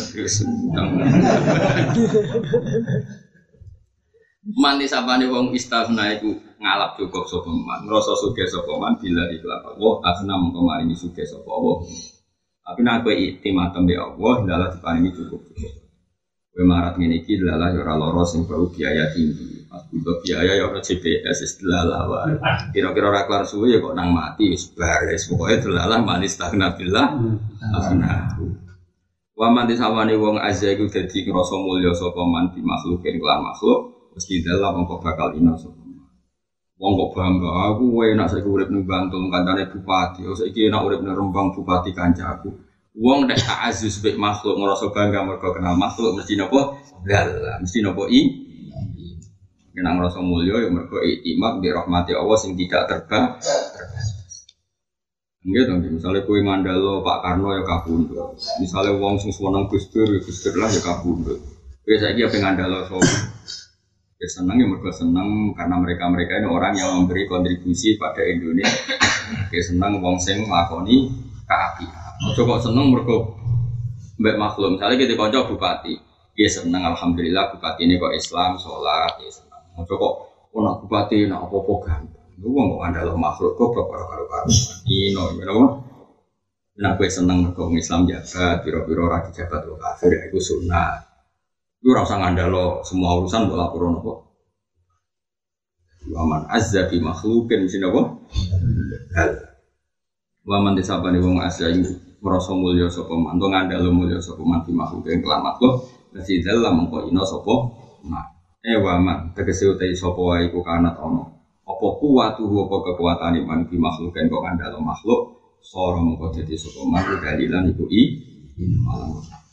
Manis apa nih wong istaghna iku ngalap cukup sapa man ngrasa sugih sapa man bila ikhlas Allah asna mengko maringi sugih sapa Allah tapi nek kowe iktimatem be Allah dalah diparingi cukup kowe marat ngene iki dalah ya ora lara sing perlu biaya tinggi pas butuh biaya ya ora CPS wis dalah wae kira-kira ora kelar suwe ya kok nang mati wis bares pokoke dalah manis istaghna billah asna wa man disawani wong azza iku dadi ngrasa mulya sapa man di makhlukin kelan makhluk mesti dalam mongko bakal ina sapa. Wong kok bangga aku enak saiki urip ning Bantul kancane bupati, saiki enak urip ning Rembang bupati kancaku. Wong nek ta'azzuz mek makhluk ngrasa bangga mergo kenal makhluk mesti napa? Dalam, mesti napa Nek ngrasa mulya ya mergo iktimak bi rahmati Allah sing tidak terbatas. Nggih to, misale kowe ngandalo Pak Karno ya kabundut. Misale wong sing seneng Gus Dur lah ya kabundut. Kowe saiki ya ngandalo sapa? Ya senang ya mereka senang karena mereka ini orang yang memberi kontribusi pada Indonesia. Ya senang wong sing nglakoni keapian. Ojo kok seneng mergo mbek makhluk. Misalnya kita kanca bupati, ya seneng alhamdulillah bupati ini kok Islam, sholat, ya seneng. Ojo kok ana bupati nak apa-apa gampang. Lu wong kok andal makhluk kok karo-karo. Ino, you know. Nek kowe seneng mergo Islam jabat, pira-pira ora dijabat kok kafir iku sunah. Lu rasa ngandalo semua urusan buat laporan apa? Waman azza bi makhlukin mesti apa? Waman disabani wong azza iku merasa mulya sapa man, to ngandalo mulya sapa man bi makhlukin kelan makhluk, mesti dalam mengko ina sapa man. Waman tegese utai sapa wae iku kanat ana. Apa kuwatuhu apa kekuatane man bi makhlukin kok ngandalo makhluk, sora mengko dadi sapa man dalilan iku malam.